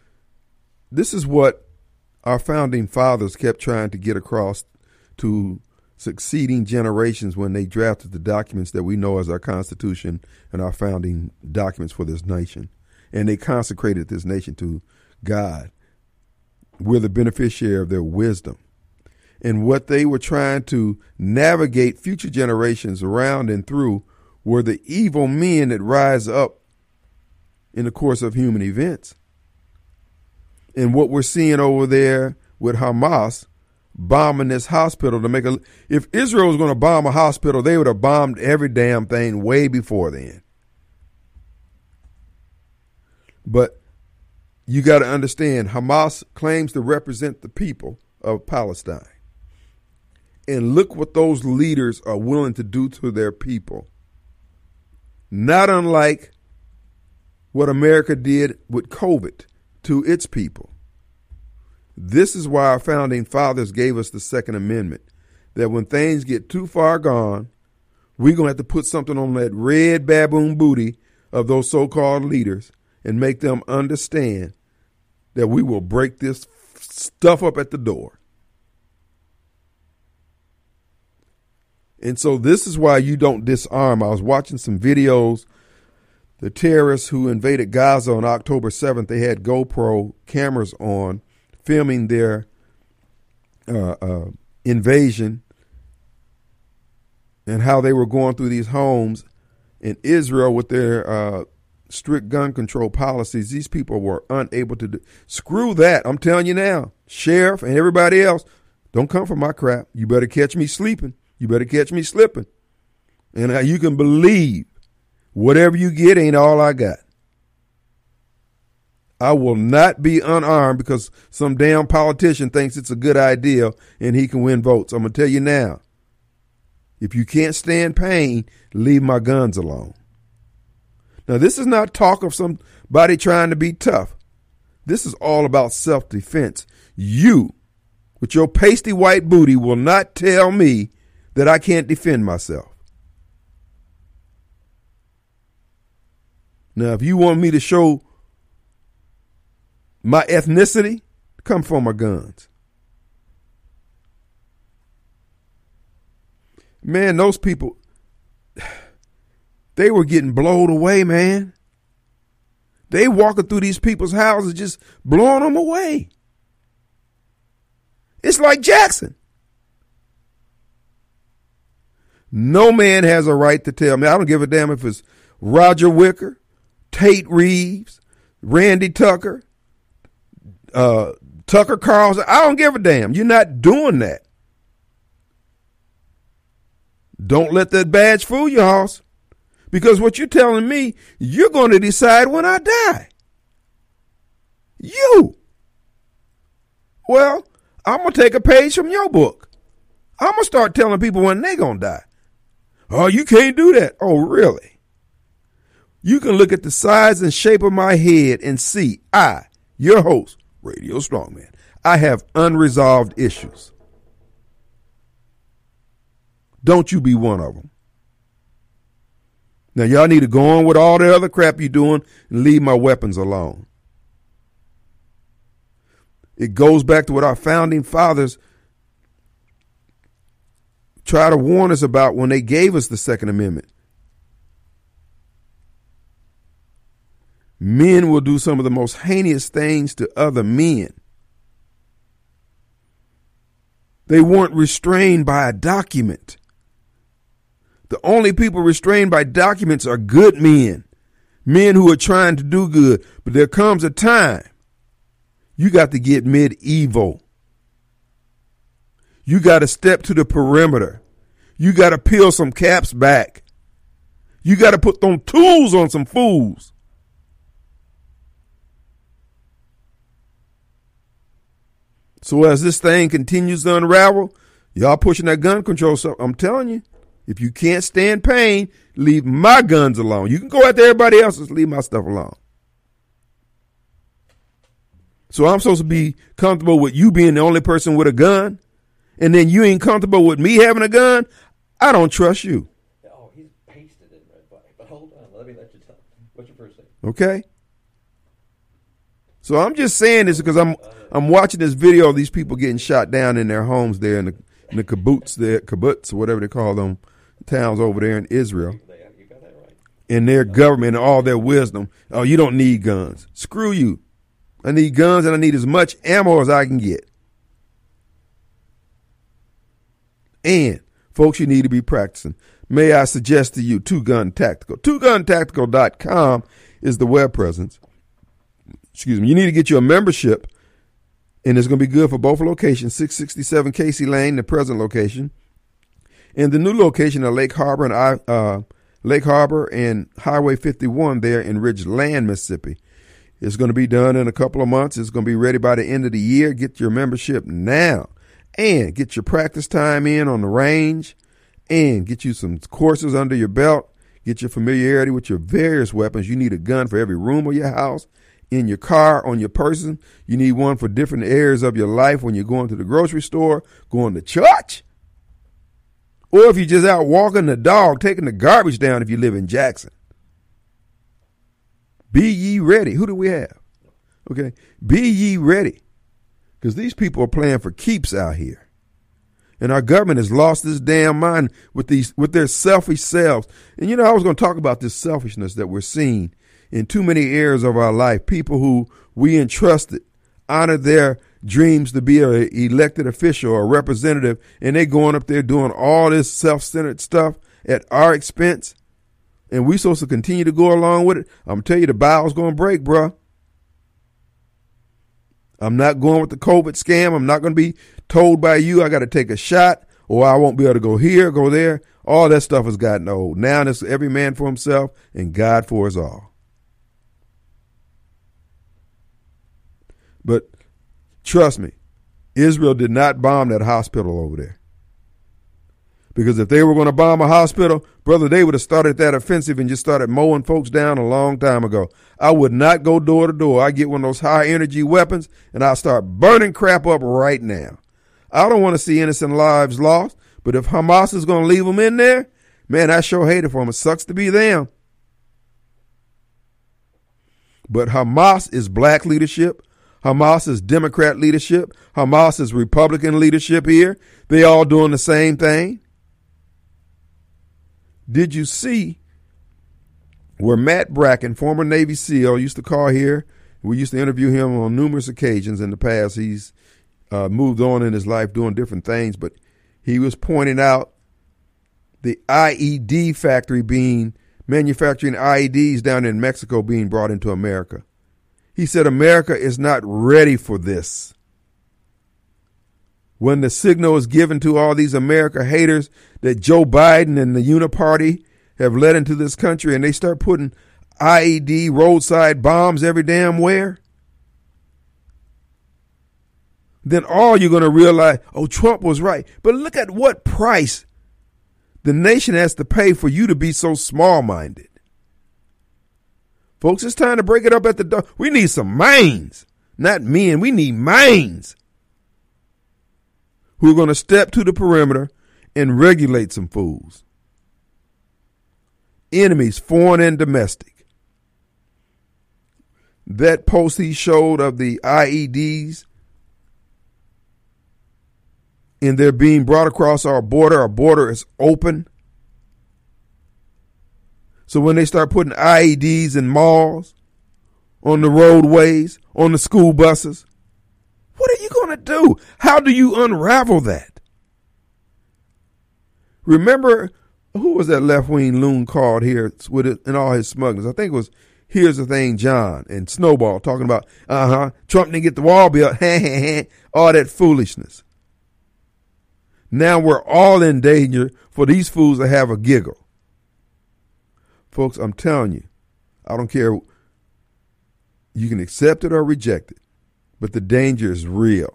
this is what our founding fathers kept trying to get across to succeeding generations when they drafted the documents that we know as our Constitution and our founding documents for this nation. And they consecrated this nation to God. We're the beneficiary of their wisdom. And what they were trying to navigate future generations around and through were the evil men that rise up in the course of human events. And what we're seeing over there with Hamas bombing this hospital to make a, if Israel was going to bomb a hospital, they would have bombed every damn thing way before then. But you got to understand, Hamas claims to represent the people of Palestine. And look what those leaders are willing to do to their people. Not unlike what America did with COVID to its people. This is why our founding fathers gave us the Second Amendment, that when things get too far gone, we're going to have to put something on that red baboon booty of those so-called leaders and make them understand that we will break this stuff up at the door. And so this is why you don't disarm. I was watching some videos. The terrorists who invaded Gaza on October seventh, they had GoPro cameras on, filming their uh, uh, invasion and how they were going through these homes in Israel with their uh, strict gun control policies. These people were unable to do. Screw that. I'm telling you now, sheriff and everybody else, don't come for my crap. You better catch me sleeping. You better catch me slipping. And uh, you can believe whatever you get ain't all I got. I will not be unarmed because some damn politician thinks it's a good idea and he can win votes. I'm going to tell you now, if you can't stand pain, leave my guns alone. Now, this is not talk of somebody trying to be tough. This is all about self-defense. You, with your pasty white booty, will not tell me that I can't defend myself. Now, if you want me to show my ethnicity, come for my guns. Man, those people, They were getting blown away, man. They walking through these people's houses just blowing them away. It's like Jackson. No man has a right to tell me. I don't give a damn if it's Roger Wicker, Tate Reeves, Randy Tucker, uh, Tucker Carlson. I don't give a damn. You're not doing that. Don't let that badge fool you, Hoss. Because what you're telling me, you're going to decide when I die. You. Well, I'm going to take a page from your book. I'm going to start telling people when they're going to die. Oh, you can't do that. Oh, really? You can look at the size and shape of my head and see I, your host, Radio Strongman, I have unresolved issues. Don't you be one of them. Now, y'all need to go on with all the other crap you're doing and leave my weapons alone. It goes back to what our founding fathers try to warn us about when they gave us the Second Amendment. Men will do some of the most heinous things to other men. They weren't restrained by a document. The only people restrained by documents are good men, men who are trying to do good. But there comes a time you got to get medieval. You got to step to the perimeter. You got to peel some caps back. You got to put them tools on some fools. So as this thing continues to unravel, y'all pushing that gun control stuff, I'm telling you, if you can't stand pain, leave my guns alone. You can go after everybody else's, leave my stuff alone. So I'm supposed to be comfortable with you being the only person with a gun, and then you ain't comfortable with me having a gun? I don't trust you. Oh, he's pasted in red flag. But hold on, let me let you tell. What's your first name? Okay. So I'm just saying this because I'm I'm watching this video of these people getting shot down in their homes there in the in the kibbutz there, kibbutz or whatever they call them towns over there in Israel. You got that right. In their government and all their wisdom. Oh, you don't need guns. Screw you. I need guns and I need as much ammo as I can get. And folks, you need to be practicing. May I suggest to you Two Gun Tactical. two gun tactical dot com is the web presence. Excuse me. You need to get you a membership, and it's going to be good for both locations, six sixty-seven Casey Lane, the present location, and the new location at Lake Harbor and I, uh, Lake Harbor and Highway fifty-one there in Ridgeland, Mississippi. It's going to be done in a couple of months. It's going to be ready by the end of the year. Get your membership now and get your practice time in on the range and get you some courses under your belt. Get your familiarity with your various weapons. You need a gun for every room of your house, in your car, on your person. You need one for different areas of your life when you're going to the grocery store, going to church, or if you're just out walking the dog, taking the garbage down if you live in Jackson. Be ye ready. Who do we have? Okay. Be ye ready. Because these people are playing for keeps out here. And our government has lost this damn mind with these, with their selfish selves. And you know, I was going to talk about this selfishness that we're seeing in too many areas of our life. People who we entrusted, honored their dreams to be an elected official or representative, and they going up there doing all this self-centered stuff at our expense. And we supposed to continue to go along with it. I'm going to tell you, the bowel's going to break, bro. I'm not going with the COVID scam. I'm not going to be told by you I got to take a shot or I won't be able to go here, go there. All that stuff has gotten old. Now it's every man for himself and God for us all. But trust me, Israel did not bomb that hospital over there. Because if they were going to bomb a hospital, brother, they would have started that offensive and just started mowing folks down a long time ago. I would not go door to door. I get one of those high energy weapons and I'll start burning crap up right now. I don't want to see innocent lives lost, but if Hamas is going to leave them in there, man, I sure hate it for them. It sucks to be them. But Hamas is black leadership. Hamas is Democrat leadership. Hamas is Republican leadership here. They all doing the same thing. Did you see where Matt Bracken, former Navy SEAL, used to call here. We used to interview him on numerous occasions in the past. He's uh, moved on in his life doing different things, but he was pointing out the I E D factory being manufacturing I E Ds down in Mexico being brought into America. He said America is not ready for this. When the signal is given to all these America haters that Joe Biden and the Uniparty have led into this country, and they start putting I E D roadside bombs every damn where, then all you're going to realize, oh, Trump was right. But look at what price the nation has to pay for you to be so small-minded. Folks, it's time to break it up at the door. We need some minds, not men. We need minds who are going to step to the perimeter and regulate some fools. Enemies, foreign and domestic. That post he showed of the I E Ds and they're being brought across our border, our border is open. So when they start putting I E Ds in malls, on the roadways, on the school buses, what are you going to do? How do you unravel that? Remember, who was that left-wing loon called here with it in all his smugness? I think it was Here's the Thing, John, and Snowball talking about, uh-huh, Trump didn't get the wall built, all that foolishness. Now we're all in danger for these fools to have a giggle. Folks, I'm telling you, I don't care. You can accept it or reject it, but the danger is real.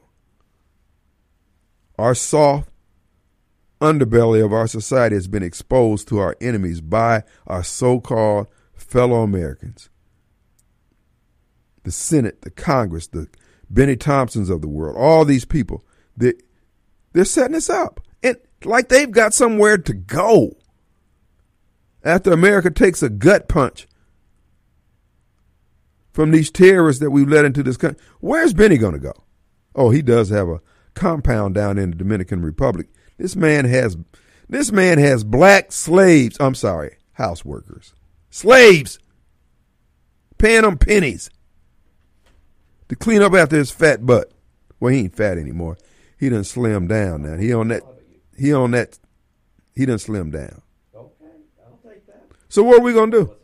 Our soft underbelly of our society has been exposed to our enemies by our so-called fellow Americans. The Senate, the Congress, the Benny Thompsons of the world, all these people, they, they're setting us up. And like they've got somewhere to go. After America takes a gut punch from these terrorists that we've let into this country, where's Benny going to go? Oh, he does have a compound down in the Dominican Republic. This man has, this man has black slaves. I'm sorry, house workers, slaves, paying them pennies to clean up after his fat butt. Well, he ain't fat anymore. He done slimmed down now. He on that. He on that. He done slimmed down. So what are we going to do?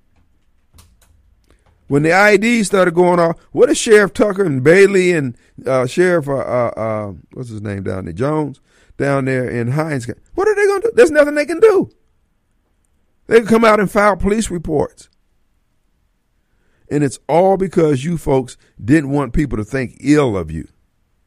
When the I E Ds started going off, what is Sheriff Tucker and Bailey and uh, Sheriff, uh, uh, uh, what's his name down there, Jones, down there in Hines, what are they going to do? There's nothing they can do. They can come out and file police reports. And it's all because you folks didn't want people to think ill of you.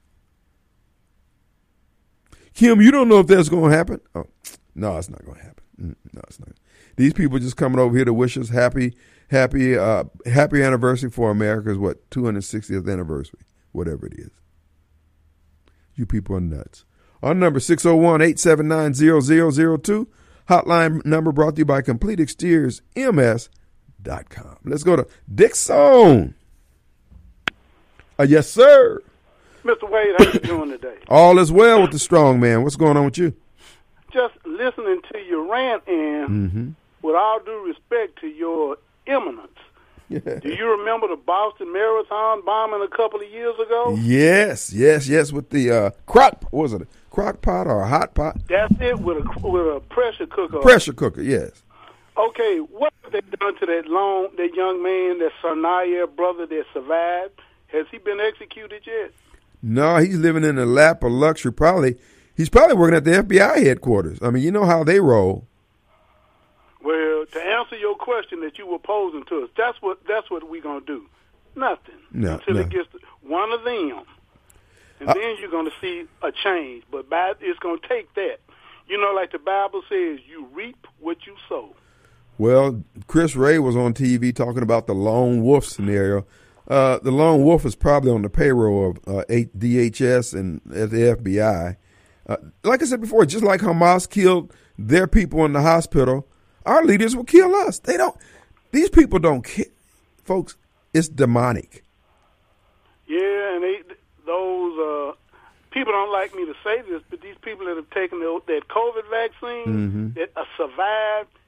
Kim, you don't know if that's going to happen? Oh, no, it's not going to happen. No, it's not. These people just coming over here to wish us happy, happy, uh, happy anniversary for America's, what, two hundred sixtieth anniversary, whatever it is. You people are nuts. Our number, six oh one, eight seven nine, zero zero zero two. Hotline number brought to you by Complete Exteriors M S dot com. Let's go to Dixon. Uh, yes, sir. Mister Wade, how you doing today? All is well with the strong man. What's going on with you? Just listening to your rant and Mm-hmm. with all due respect to your eminence, Yeah. do you remember the Boston Marathon bombing a couple of years ago? Yes, yes, yes, with the uh, crock, what was it, a crock pot or a hot pot? That's it, with a, with a pressure cooker. Pressure cooker, yes. Okay, what have they done to that long, that young man, that Sanaya brother that survived? Has he been executed yet? No, he's living in a lap of luxury. Probably, he's probably working at the F B I headquarters. I mean, you know how they roll. Well, to answer your question that you were posing to us, that's what that's what we're gonna do. Nothing No, until no. it gets to one of them, and Uh, then you're gonna see a change. But by, it's gonna take that. You know, like the Bible says, you reap what you sow. Well, Chris Ray was on T V talking about the lone wolf scenario. Uh, the lone wolf is probably on the payroll of uh, D H S and at the F B I. Uh, like I said before, just like Hamas killed their people in the hospital, our leaders will kill us. They don't. These people don't care, folks. It's demonic. Yeah, and they, those uh, people don't like me to say this, but these people that have taken the, that COVID vaccine Mhm. that uh, survived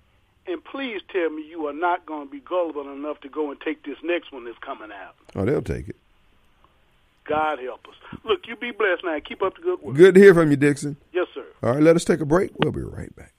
And please tell me you are not going to be gullible enough to go and take this next one that's coming out. Oh, they'll take it. God help us. Look, you be blessed now. Keep up the good work. Good to hear from you, Dixon. Yes, sir. All right, let us take a break. We'll be right back.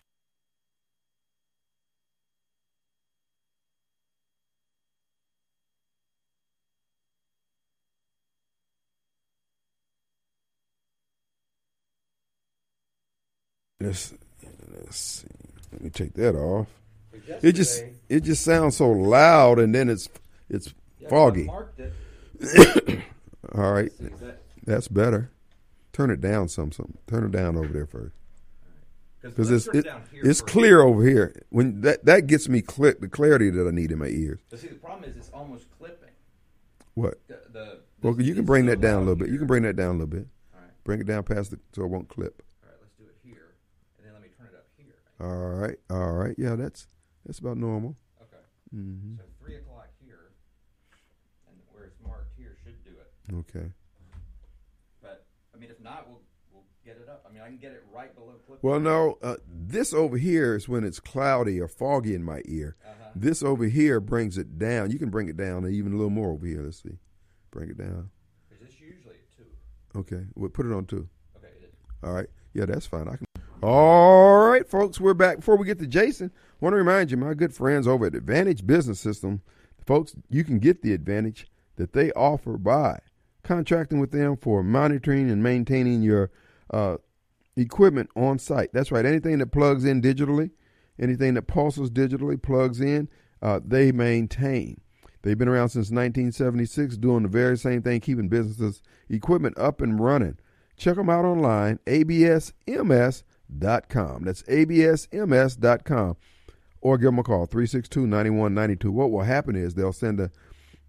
Let's, let's see. Let me take that off. It just it just sounds so loud, and then it's it's yeah, foggy. Marked it. All right, that. That's better. Turn it down some some. Turn it down over there first, because it's it, it's clear over here. When that that gets me cl- the clarity that I need in my ears. But see, the problem is it's almost clipping. What? The, the, well, you can bring that down a little bit. You can bring that down a little bit. All right. Bring it down past it so it won't clip. All right, let's do it here, and then let me turn it up here. All right, all right. Yeah, that's that's about normal. Okay. Mm-hmm. So three o'clock here, and where it's marked here should do it. Okay. But I mean, if not, we'll we'll get it up. I mean, I can get it right below clip. Well, no, uh, this over here is when it's cloudy or foggy in my ear. Uh-huh. This over here brings it down. You can bring it down even a little more over here. Let's see. Bring it down. Is this usually at two? Okay. We'll put it on two. Okay, it is. All right. Yeah, that's fine. I can. All right, folks, we're back. Before we get to Jason, I want to remind you, my good friends over at Advantage Business System, folks, you can get the advantage that they offer by contracting with them for monitoring and maintaining your uh, equipment on site. That's right. Anything that plugs in digitally, anything that pulses digitally, plugs in, uh, they maintain. They've been around since nineteen seventy-six, doing the very same thing, keeping businesses' equipment up and running. Check them out online, A B S M S dot com. That's A B S M S dot com. Or give them a call, three six two, nine one nine two. What will happen is they'll send a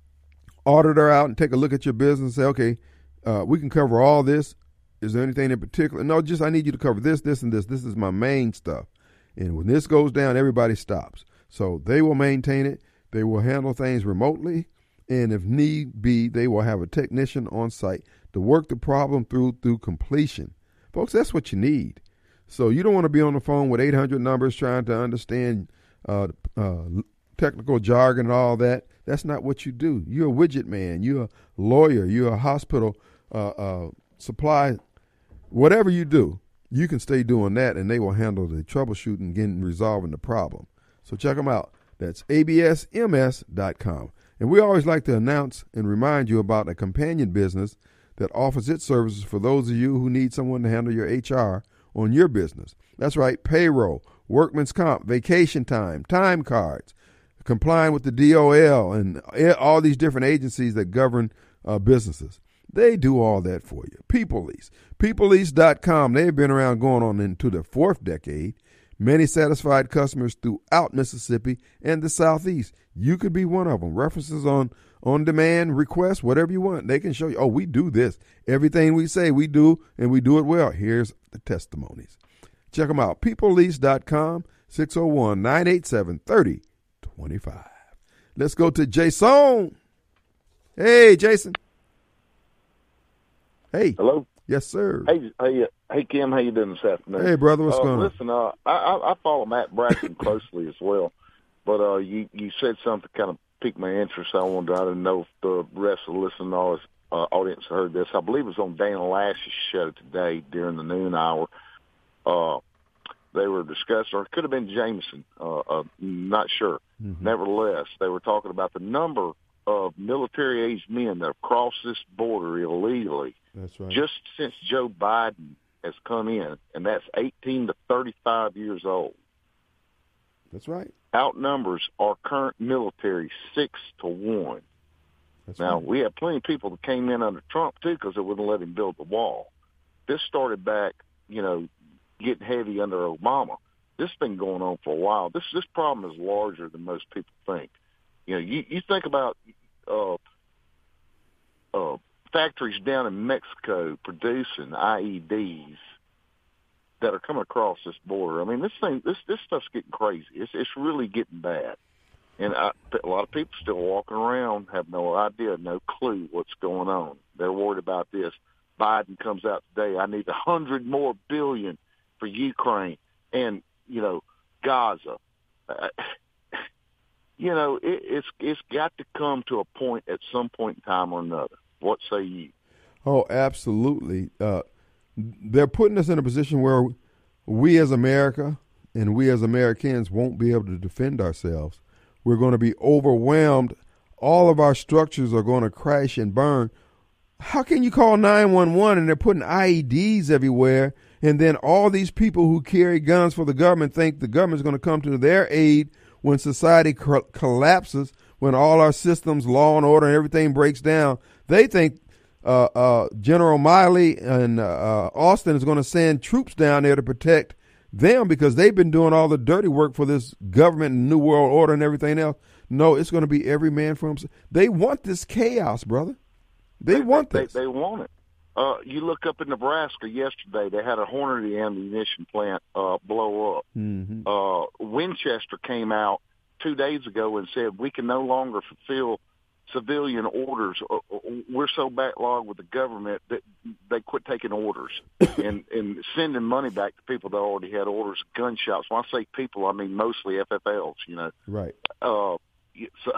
auditor out and take a look at your business and say, okay, uh, we can cover all this. Is there anything in particular? No, just I need you to cover this, this, and this. This is my main stuff. And when this goes down, everybody stops. So they will maintain it. They will handle things remotely. And if need be, they will have a technician on site to work the problem through through completion. Folks, that's what you need. So you don't want to be on the phone with eight hundred numbers trying to understand uh, uh, technical jargon and all that. That's not what you do. You're a widget man. You're a lawyer. You're a hospital uh, uh, supply. Whatever you do, you can stay doing that, and they will handle the troubleshooting, getting resolving the problem. So check them out. That's A B S M S dot com. And we always like to announce and remind you about a companion business that offers its services for those of you who need someone to handle your H R on your business. That's right, payroll, workman's comp, vacation time, time cards, complying with the D O L and all these different agencies that govern uh, businesses. They do all that for you. People Lease, people lease dot com. They've been around going on into the fourth decade. Many satisfied customers throughout Mississippi and the Southeast. You could be one of them. References on on-demand requests, whatever you want. They can show you, oh, we do this. Everything we say we do, and we do it well. Here's the testimonies. Check them out. people lease dot com, six oh one, nine eight seven, three oh two five. Let's go to Jason. Hey, Jason. Hey. Hello. Yes, sir. Hey, hey, hey, Kim. How you doing this afternoon? Hey, brother. What's uh, going on? Listen, uh, I, I, I follow Matt Braxton closely as well, but uh, you you said something kind of piqued my interest. I wanted. I didn't know if the rest of the listening uh, audience heard this. I believe it was on Dana Lash's show today during the noon hour. Uh, they were discussing, or it could have been Jameson. Uh, uh, not sure. Mm-hmm. Nevertheless, they were talking about the number of military-aged men that have crossed this border illegally. That's right. Just since Joe Biden has come in, and that's eighteen to thirty-five years old. That's right. Outnumbers our current military six to one. That's now, right. we had plenty of people that came in under Trump, too, because they wouldn't let him build the wall. This started back, you know, getting heavy under Obama. This has been going on for a while. This this problem is larger than most people think. You know, you, you think about uh, uh, factories down in Mexico producing I E Ds that are coming across this border. I mean, this thing, this this stuff's getting crazy. It's it's really getting bad, and I, a lot of people still walking around have no idea, no clue what's going on. They're worried about this. Biden comes out today. I need a hundred more billion for Ukraine and you know Gaza. uh, you know, it, it's it's got to come to a point at some point in time or another. What say you? Oh, absolutely. Uh, they're putting us in a position where we as America and we as Americans won't be able to defend ourselves. We're going to be overwhelmed. All of our structures are going to crash and burn. How can you call nine one one and they're putting I E Ds everywhere, and then all these people who carry guns for the government think the government's going to come to their aid when society co- collapses, when all our systems, law and order and everything breaks down? They think uh, uh, General Miley and uh, Austin is going to send troops down there to protect them because they've been doing all the dirty work for this government and New World Order and everything else. No, it's going to be every man for himself. They want this chaos, brother. They, they want they, this. They, they want it. Uh, you look up in Nebraska yesterday, they had a Hornady ammunition plant uh, blow up. Mm-hmm. Uh, Winchester came out two days ago and said, we can no longer fulfill civilian orders. We're so backlogged with the government that they quit taking orders and, and sending money back to people that already had orders, gun shops. When I say people, I mean mostly F F Ls, you know. Right. Uh, so,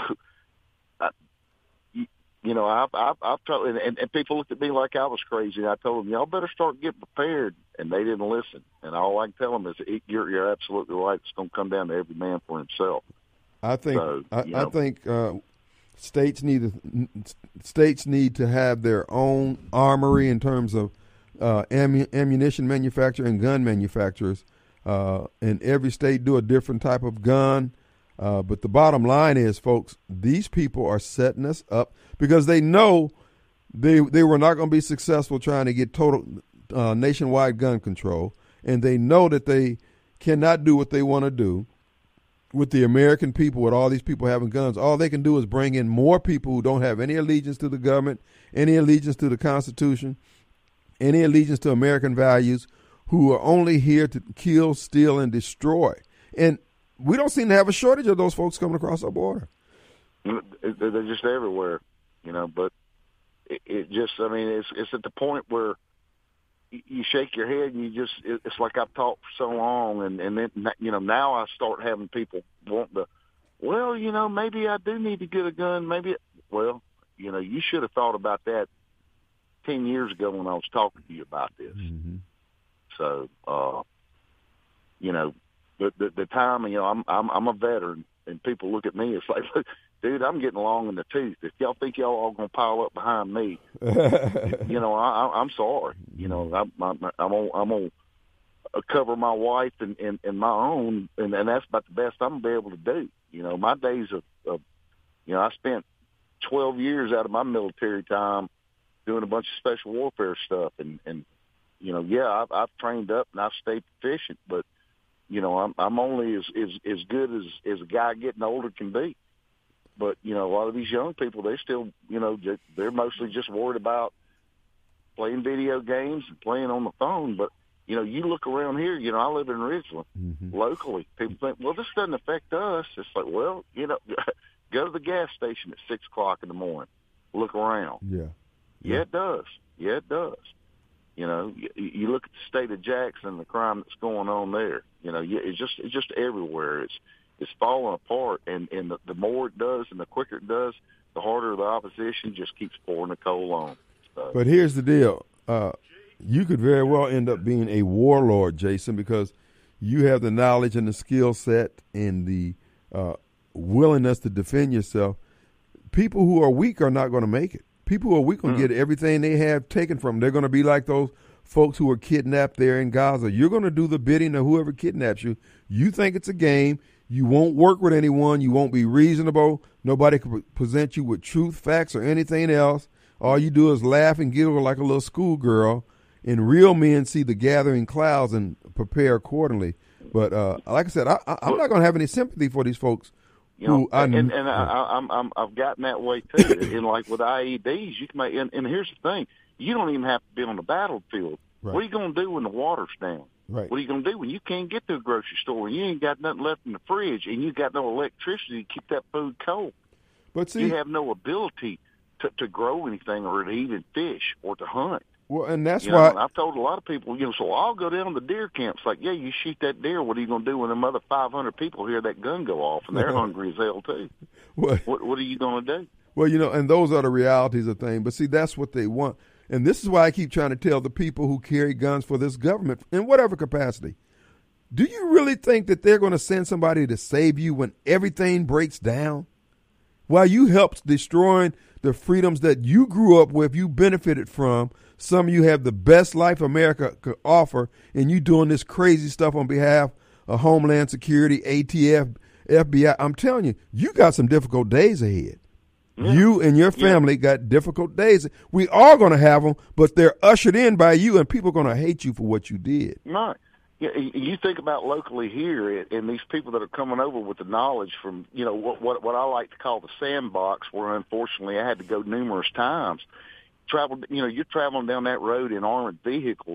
I, you, you know, I've, I've, I've told, and, and people looked at me like I was crazy. And I told them, y'all better start getting prepared. And they didn't listen. And all I can tell them is, you're, you're absolutely right. It's going to come down to every man for himself. I think, so, I, you know, I think, uh, States need to, states need to have their own armory in terms of uh, ammu- ammunition manufacturer and gun manufacturers. Uh, and every state do a different type of gun. Uh, but the bottom line is, folks, these people are setting us up because they know they they were not going to be successful trying to get total uh, nationwide gun control, and they know that they cannot do what they want to do with the American people, with all these people having guns. All they can do is bring in more people who don't have any allegiance to the government, any allegiance to the Constitution, any allegiance to American values, who are only here to kill, steal, and destroy. And we don't seem to have a shortage of those folks coming across our border. They're just everywhere, you know, but it, it just, I mean, it's it's at the point where you shake your head and you just, it's like I've talked for so long, and, and then, you know, now I start having people want to, well, you know, maybe I do need to get a gun, maybe, well, you know, you should have thought about that ten years ago when I was talking to you about this. Mm-hmm. So, uh, you know, the, the the time, you know, I'm I'm I'm a veteran, and people look at me, it's like, look, dude, I'm getting long in the tooth. If y'all think y'all all gonna pile up behind me, you know, I, I, I'm sorry. You know, I'm I'm I'm gonna, I'm gonna cover my wife and, and, and my own, and, and that's about the best I'm gonna be able to do. You know, my days of, of, you know, I spent twelve years out of my military time doing a bunch of special warfare stuff, and and you know, yeah, I've, I've trained up and I've stayed proficient, but you know, I'm I'm only as as, as good as, as a guy getting older can be. But, you know, a lot of these young people, they still, you know, they're mostly just worried about playing video games and playing on the phone. But, you know, you look around here, you know, I live in Ridgeland. Mm-hmm. Locally, people think, well, this doesn't affect us. It's like, well, you know, go to the gas station at six o'clock in the morning. Look around. Yeah. Yeah, yeah it does. Yeah, it does. You know, you, you look at the state of Jackson and the crime that's going on there. You know, it's just it's just everywhere. It's it's falling apart, and, and the, the more it does and the quicker it does, the harder the opposition just keeps pouring the coal on. So. But here's the deal. Uh, you could very well end up being a warlord, Jason, because you have the knowledge and the skill set and the uh, willingness to defend yourself. People who are weak are not going to make it. People who are weak will mm. get everything they have taken from them. They're going to be like those folks who were kidnapped there in Gaza. You're going to do the bidding of whoever kidnaps you. You think it's a game. You won't work with anyone. You won't be reasonable. Nobody can present you with truth, facts, or anything else. All you do is laugh and giggle like a little schoolgirl. And real men see the gathering clouds and prepare accordingly. But uh, like I said, I, I, I'm not going to have any sympathy for these folks. You know, who I, and, and I, I'm, I'm, I've gotten that way too. And like with I E Ds, you can make. And, and here's the thing: you don't even have to be on the battlefield. Right. What are you going to do when the water's down? Right. What are you going to do when you can't get to a grocery store and you ain't got nothing left in the fridge and you got no electricity to keep that food cold? But see, you have no ability to, to grow anything or to even fish or to hunt. Well, and that's you why know, I've told a lot of people, you know, so I'll go down to deer camps. Like, yeah, you shoot that deer. What are you going to do when them other five hundred people hear that gun go off and they're hungry as hell too? Well, what What are you going to do? Well, you know, and those are the realities of things. But see, that's what they want, and this is why I keep trying to tell the people who carry guns for this government in whatever capacity. Do you really think that they're going to send somebody to save you when everything breaks down? While you helped destroying the freedoms that you grew up with, you benefited from. Some of you have the best life America could offer, and you doing this crazy stuff on behalf of Homeland Security, A T F, F B I. I'm telling you, you got some difficult days ahead. Yeah. You and your family yeah. got difficult days. We are going to have them, but they're ushered in by you, and people are going to hate you for what you did. Right. You think about locally here, and these people that are coming over with the knowledge from, you know, what what, what I like to call the sandbox, where unfortunately I had to go numerous times. Travel, you know, you're traveling down that road in armored vehicles.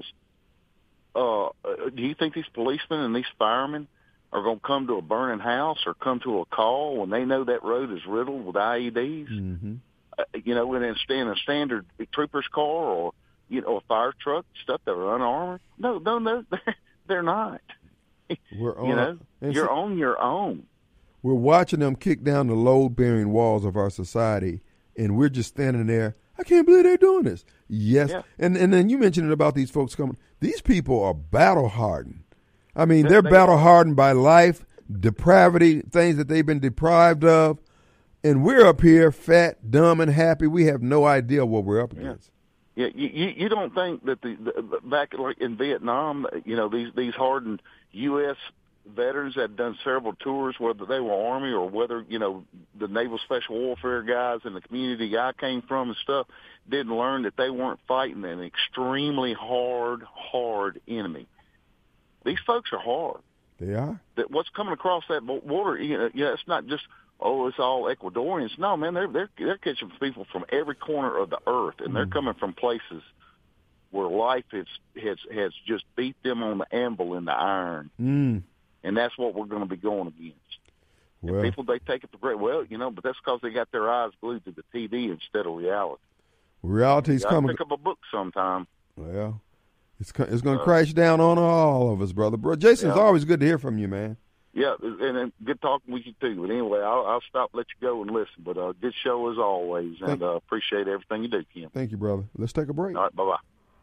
Uh, do you think these policemen and these firemen are going to come to a burning house or come to a call when they know that road is riddled with I E Ds? Mm-hmm. Uh, you know, and in a standard trooper's car or, you know, a fire truck, stuff that are unarmored? No, no, no. They're not. We're on, you know, you're so, on your own. We're watching them kick down the load-bearing walls of our society, and we're just standing there. I can't believe they're doing this. Yes, yeah. and and then you mentioned it about these folks coming. These people are battle-hardened. I mean, they're, they're battle-hardened by life, depravity, things that they've been deprived of, and we're up here fat, dumb, and happy. We have no idea what we're up against. Yeah. Yeah, you, you don't think that the, the back like in Vietnam, you know, these these hardened U S veterans that had done several tours, whether they were Army or whether, you know, the Naval Special Warfare guys in the community I came from and stuff, didn't learn that they weren't fighting an extremely hard, hard enemy. These folks are hard. They are. That what's coming across that border, you know, yeah, it's not just, oh, it's all Ecuadorians. No, man, they're they're they're catching people from every corner of the earth, and they're coming from places where life has has has just beat them on the anvil in the iron, mm. and that's what we're going to be going against. Well, and people, they take it for granted. Well, you know, but that's because they got their eyes glued to the T V instead of reality. Reality's you coming. Pick up a book sometime. Well, it's it's going to uh, crash down on all of us, brother. Bro, Jason, it's yeah. always good to hear from you, man. Yeah, and, and good talking with you, too. But anyway, I'll, I'll stop, let you go and listen. But uh, good show as always, and uh, appreciate everything you do, Kim. Thank you, brother. Let's take a break. All right, bye-bye.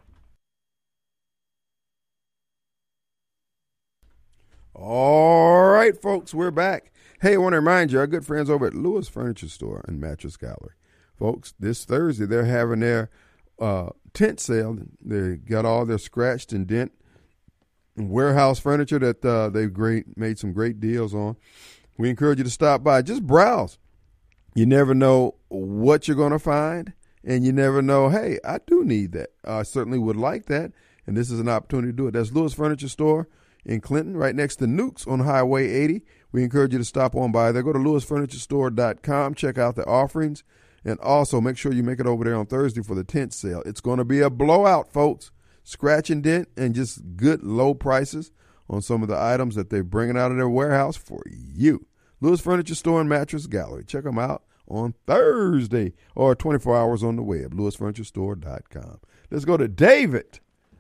All right, folks, we're back. Hey, I want to remind you, our good friends over at Lewis Furniture Store and Mattress Gallery. Folks, this Thursday, they're having their uh, tent sale. They got all their scratched and dent warehouse furniture that uh, they've great made some great deals on. We encourage you to stop by. Just browse. You never know what you're going to find, and you never know, hey, I do need that. I certainly would like that, and this is an opportunity to do it. That's Lewis Furniture Store in Clinton, right next to Nukes on Highway eighty. We encourage you to stop on by there. Go to lewis furniture store dot com. Check out the offerings, and also make sure you make it over there on Thursday for the tent sale. It's going to be a blowout, folks. Scratch and dent and just good low prices on some of the items that they're bringing out of their warehouse for you. Lewis Furniture Store and Mattress Gallery. Check them out on Thursday or twenty-four hours on the web, lewis furniture store dot com. Let's go to David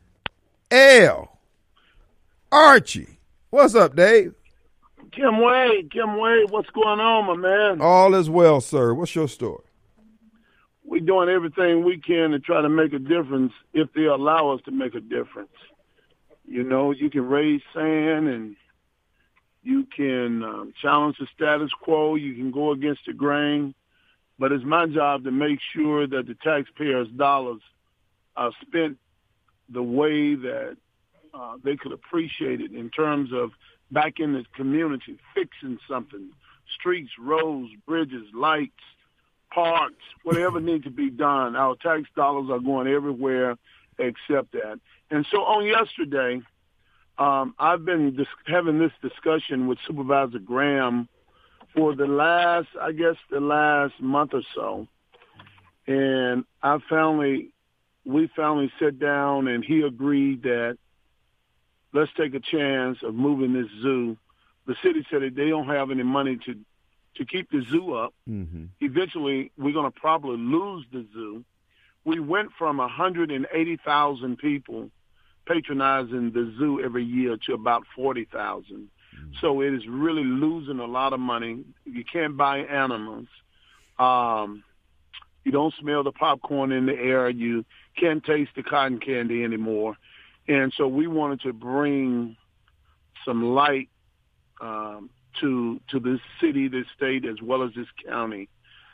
L. Archie. What's up, Dave? Kim Wade, Kim Wade, what's going on, my man? All is well, sir. What's your story? We're doing everything we can to try to make a difference if they allow us to make a difference. You know, you can raise sand and you can um, challenge the status quo. You can go against the grain. But it's my job to make sure that the taxpayers' dollars are spent the way that uh, they could appreciate it in terms of back in the community, fixing something, streets, roads, bridges, lights, parks, whatever needs to be done. Our tax dollars are going everywhere except that. And so on yesterday, um, I've been dis- having this discussion with Supervisor Graham for the last, I guess, the last month or so. And I finally, we finally sat down and he agreed that let's take a chance of moving this zoo. The city said that they don't have any money to to keep the zoo up. Mm-hmm. Eventually, we're going to probably lose the zoo. we went from one hundred eighty thousand people patronizing the zoo every year to about forty thousand. Mm. So it is really losing a lot of money. You can't buy animals. Um, you don't smell the popcorn in the air. You can't taste the cotton candy anymore. And so we wanted to bring some light um, to to this city, this state, as well as this county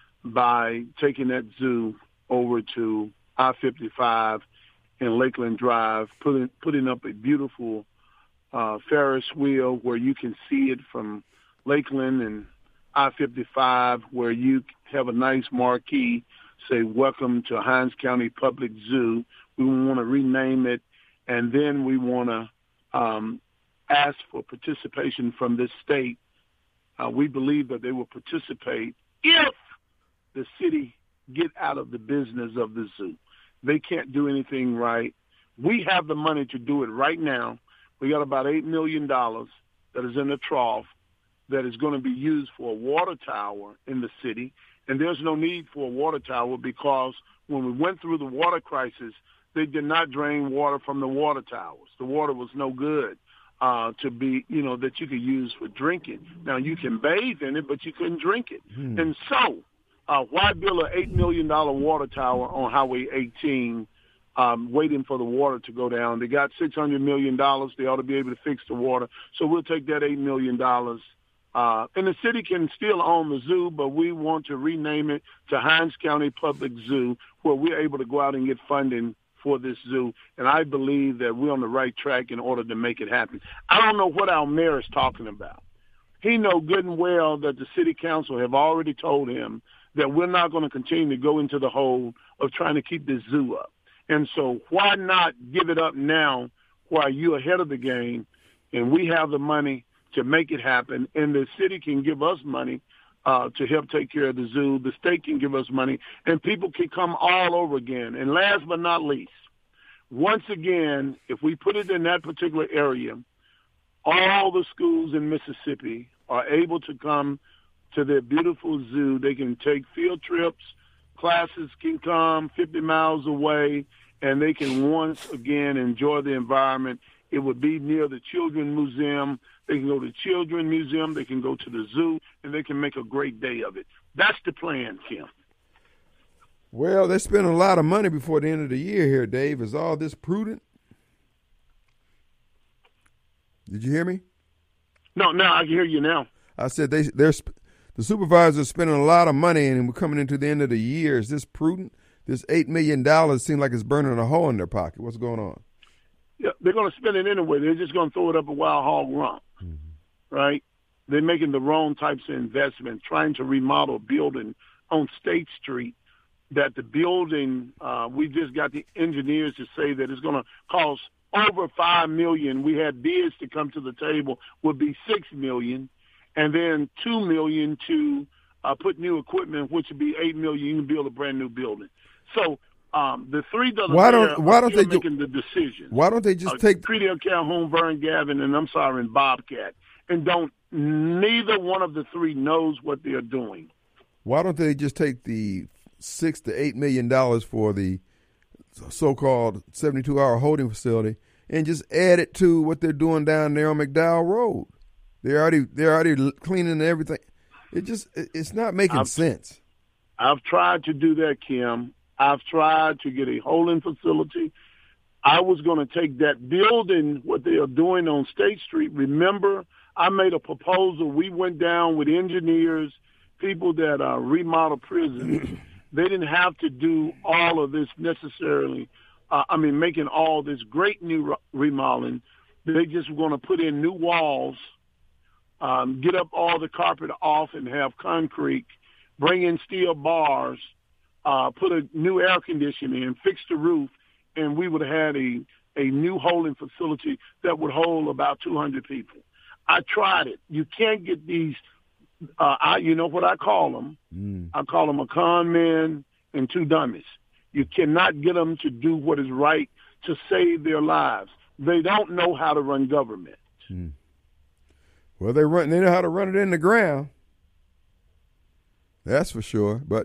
by taking that zoo over to I fifty-five and Lakeland Drive, putting putting up a beautiful uh, Ferris wheel where you can see it from Lakeland and I fifty-five, where you have a nice marquee, say, welcome to Hinds County Public Zoo. We want to rename it, and then we want to um, ask for participation from this state. Uh, we believe that they will participate if the city get out of the business of the zoo. They can't do anything right. We have the money to do it right now. We got about eight million dollars that is in the trough that is going to be used for a water tower in the city. And there's no need for a water tower because when we went through the water crisis, they did not drain water from the water towers. The water was no good uh, to be, you know, that you could use for drinking. Now, you can bathe in it, but you couldn't drink it. Hmm. And so uh, why build an eight million dollars water tower on Highway eighteen um, waiting for the water to go down? They got six hundred million dollars. They ought to be able to fix the water. So we'll take that eight million dollars. Uh, and the city can still own the zoo, but we want to rename it to Hinds County Public Zoo, where we're able to go out and get funding for this zoo. And I believe that we're on the right track in order to make it happen. I don't know what our mayor is talking about. He knows good and well that the city council have already told him that we're not going to continue to go into the hole of trying to keep this zoo up. And so why not give it up now while you're ahead of the game and we have the money to make it happen, and the city can give us money uh, to help take care of the zoo. The state can give us money, and people can come all over again. And last but not least, once again, if we put it in that particular area, all the schools in Mississippi are able to come to their beautiful zoo. They can take field trips. Classes can come fifty miles away, and they can once again enjoy the environment. It would be near the Children's Museum. They can go to the Children's Museum. They can go to the zoo, and they can make a great day of it. That's the plan, Kim. Well, they're spending a lot of money before the end of the year here, Dave. Is all this prudent? Did you hear me? No, no, I can hear you now. I said they, they're the supervisors are spending a lot of money, and we're coming into the end of the year. Is this prudent? This eight million dollars seems like it's burning a hole in their pocket. What's going on? Yeah, they're going to spend it anyway. They're just going to throw it up a wild hog rump, mm-hmm. right? They're making the wrong types of investment, trying to remodel a building on State Street that the building, uh, we just got the engineers to say that it's going to cost over five million dollars. We had bids to come to the table, would be six million dollars, and then two million dollars to uh, put new equipment, which would be eight million dollars. You can build a brand new building. So, Um, the three dollars. Why don't Why don't they making do, the decision? Why don't they just uh, take Creedale, Calhoun, Vern, Gavin, and I'm sorry, and Bobcat, and don't neither one of the three knows what they're doing. Why don't they just take the six to eight million dollars for the so-called seventy-two hour holding facility and just add it to what they're doing down there on McDowell Road? They're already they're already cleaning everything. It just it's not making I've, sense. I've tried to do that, Kim. I've tried to get a holding facility. I was going to take that building, what they are doing on State Street. Remember, I made a proposal. We went down with engineers, people that uh, remodel prisons. They didn't have to do all of this necessarily. Uh, I mean, making all this great new remodeling. They just were going to put in new walls, um, get up all the carpet off and have concrete, bring in steel bars, Uh, put a new air conditioning in, fix the roof, and we would have had a, a new holding facility that would hold about two hundred people. I tried it. You can't get these, uh, I, you know what I call them? Mm. I call them a con man and two dummies. You cannot get them to do what is right to save their lives. They don't know how to run government. Mm. Well, they run. They know how to run it in the ground. That's for sure. But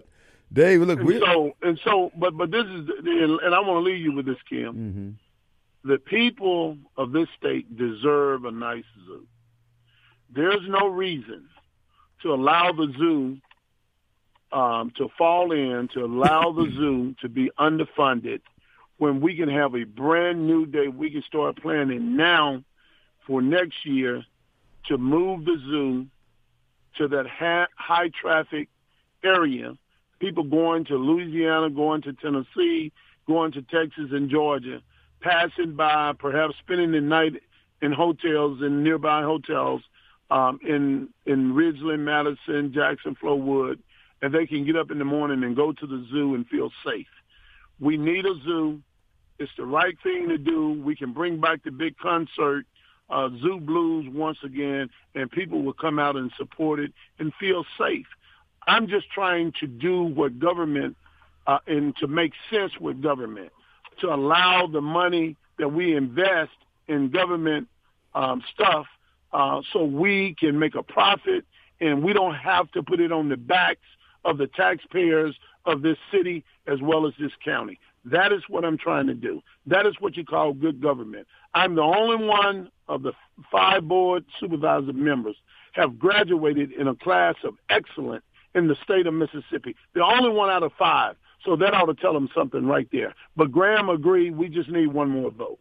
Dave, look, and we so and so, but but this is, and I want to leave you with this, Kim. Mm-hmm. The people of this state deserve a nice zoo. There's no reason to allow the zoo um, to fall in, to allow the zoo to be underfunded when we can have a brand new day. We can start planning now for next year to move the zoo to that ha- high traffic area. People going to Louisiana, going to Tennessee, going to Texas and Georgia, passing by, perhaps spending the night in hotels, in nearby hotels, um, in in Ridgeland, Madison, Jackson, Flowood, and they can get up in the morning and go to the zoo and feel safe. We need a zoo. It's the right thing to do. We can bring back the big concert, uh, Zoo Blues once again, and people will come out and support it and feel safe. I'm just trying to do what government, uh, and to make sense with government, to allow the money that we invest in government um, stuff uh, so we can make a profit and we don't have to put it on the backs of the taxpayers of this city as well as this county. That is what I'm trying to do. That is what you call good government. I'm the only one of the five board supervisor members have graduated in a class of excellence in the state of Mississippi. The only one out of five. So that ought to tell them something right there. But Graham agreed. We just need one more vote.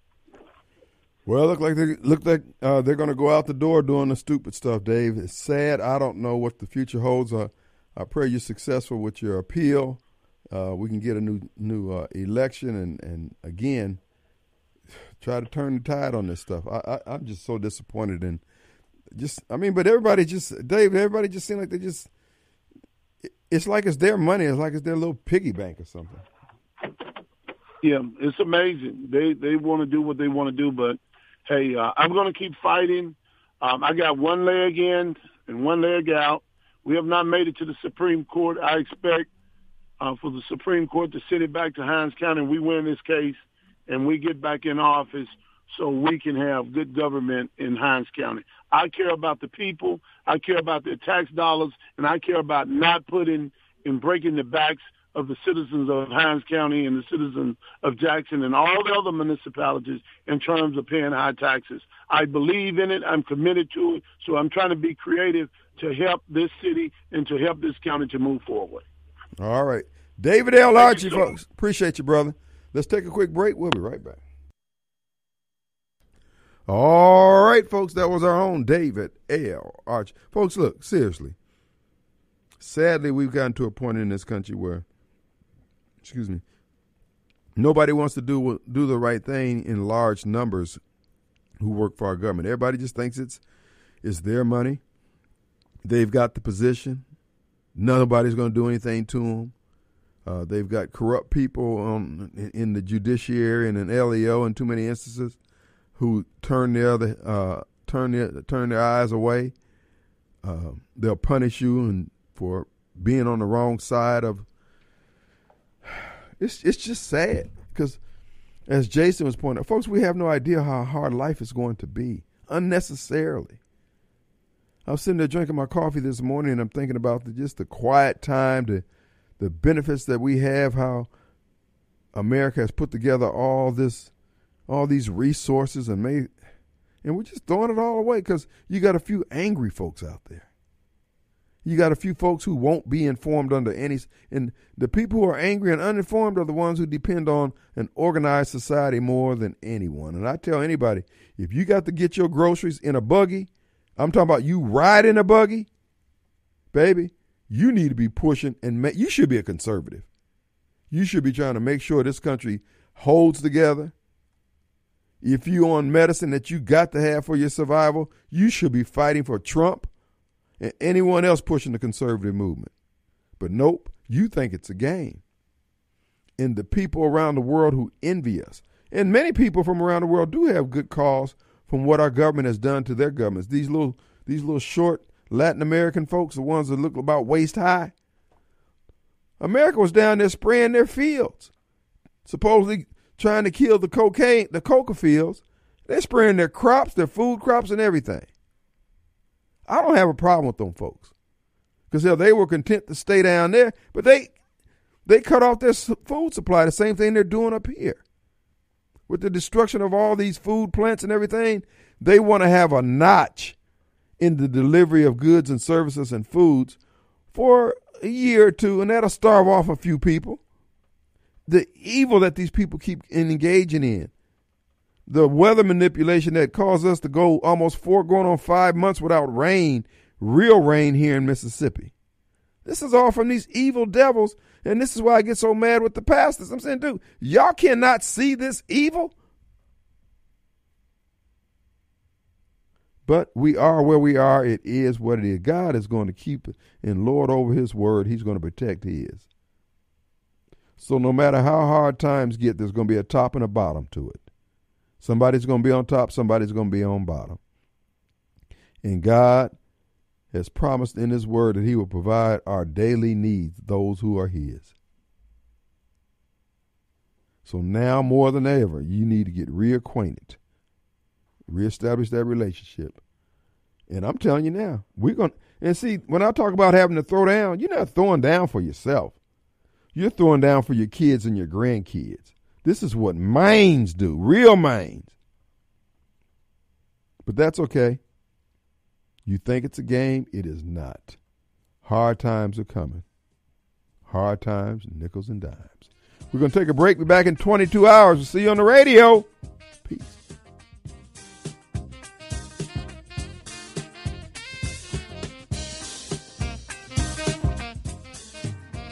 Well, look like they look like uh, they're going to go out the door doing the stupid stuff, Dave. It's sad. I don't know what the future holds. Uh, I pray you're successful with your appeal. Uh, we can get a new new uh, election and, and again try to turn the tide on this stuff. I, I I'm just so disappointed in just I mean, but everybody just Dave. Everybody just seems like they just. It's like it's their money. It's like it's their little piggy bank or something. Yeah, it's amazing. They they want to do what they want to do, but hey, uh, I'm going to keep fighting. Um, I got one leg in and one leg out. We have not made it to the Supreme Court. I expect uh, for the Supreme Court to send it back to Hinds County and we win this case and we get back in office so we can have good government in Hinds County. I care about the people. I care about their tax dollars, and I care about not putting and breaking the backs of the citizens of Hinds County and the citizens of Jackson and all the other municipalities in terms of paying high taxes. I believe in it. I'm committed to it. So I'm trying to be creative to help this city and to help this county to move forward. All right. David L. Archie, folks. Appreciate you, brother. Let's take a quick break. We'll be right back. All right, folks, that was our own David L. Archie. Folks, look, seriously. Sadly, we've gotten to a point in this country where, excuse me, nobody wants to do do the right thing in large numbers who work for our government. Everybody just thinks it's it's their money. They've got the position. Nobody's going to do anything to them. Uh, they've got corrupt people um, in, in the judiciary and in L E O in too many instances who turn their other uh, turn their turn their eyes away. Uh, they'll punish you and for being on the wrong side of. It's it's just sad because, as Jason was pointing out, folks, we have no idea how hard life is going to be unnecessarily. I was sitting there drinking my coffee this morning, and I'm thinking about the, just the quiet time, the the benefits that we have, how America has put together all this. all these resources and made, and we're just throwing it all away because you got a few angry folks out there. You got a few folks who won't be informed under any, and the people who are angry and uninformed are the ones who depend on an organized society more than anyone. And I tell anybody, if you got to get your groceries in a buggy, I'm talking about you ride in a buggy, baby, you need to be pushing and make, you should be a conservative. You should be trying to make sure this country holds together. If you on medicine that you got to have for your survival, you should be fighting for Trump and anyone else pushing the conservative movement. But nope, you think it's a game. And the people around the world who envy us, and many people from around the world do have good cause from what our government has done to their governments. These little, these little short Latin American folks, the ones that look about waist high. America was down there spraying their fields, supposedly trying to kill the cocaine, the coca fields. They're spraying their crops, their food crops, and everything. I don't have a problem with them folks because they were content to stay down there, but they They cut off their food supply, the same thing they're doing up here. With the destruction of all these food plants and everything, they want to have a notch in the delivery of goods and services and foods for a year or two, and that'll starve off a few people. The evil that these people keep engaging in, the weather manipulation that caused us to go almost four, going on five months without rain, real rain here in Mississippi. This is all from these evil devils, and this is why I get so mad with the pastors. I'm saying, dude, y'all cannot see this evil? But we are where we are. It is what it is. God is going to keep it and Lord over his word. He's going to protect his. So no matter how hard times get, there's going to be a top and a bottom to it. Somebody's going to be on top. Somebody's going to be on bottom. And God has promised in his word that he will provide our daily needs, those who are his. So now more than ever, you need to get reacquainted. Reestablish that relationship. And I'm telling you now, we're going to, and see, when I talk about having to throw down, you're not throwing down for yourself. You're throwing down for your kids and your grandkids. This is what mains do, real mains. But that's okay. You think it's a game? It is not. Hard times are coming. Hard times, nickels and dimes. We're going to take a break. We'll be back in twenty-two hours. We'll see you on the radio. Peace.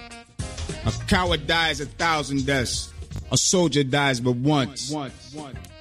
A coward dies a thousand deaths. A soldier dies but once. once, once.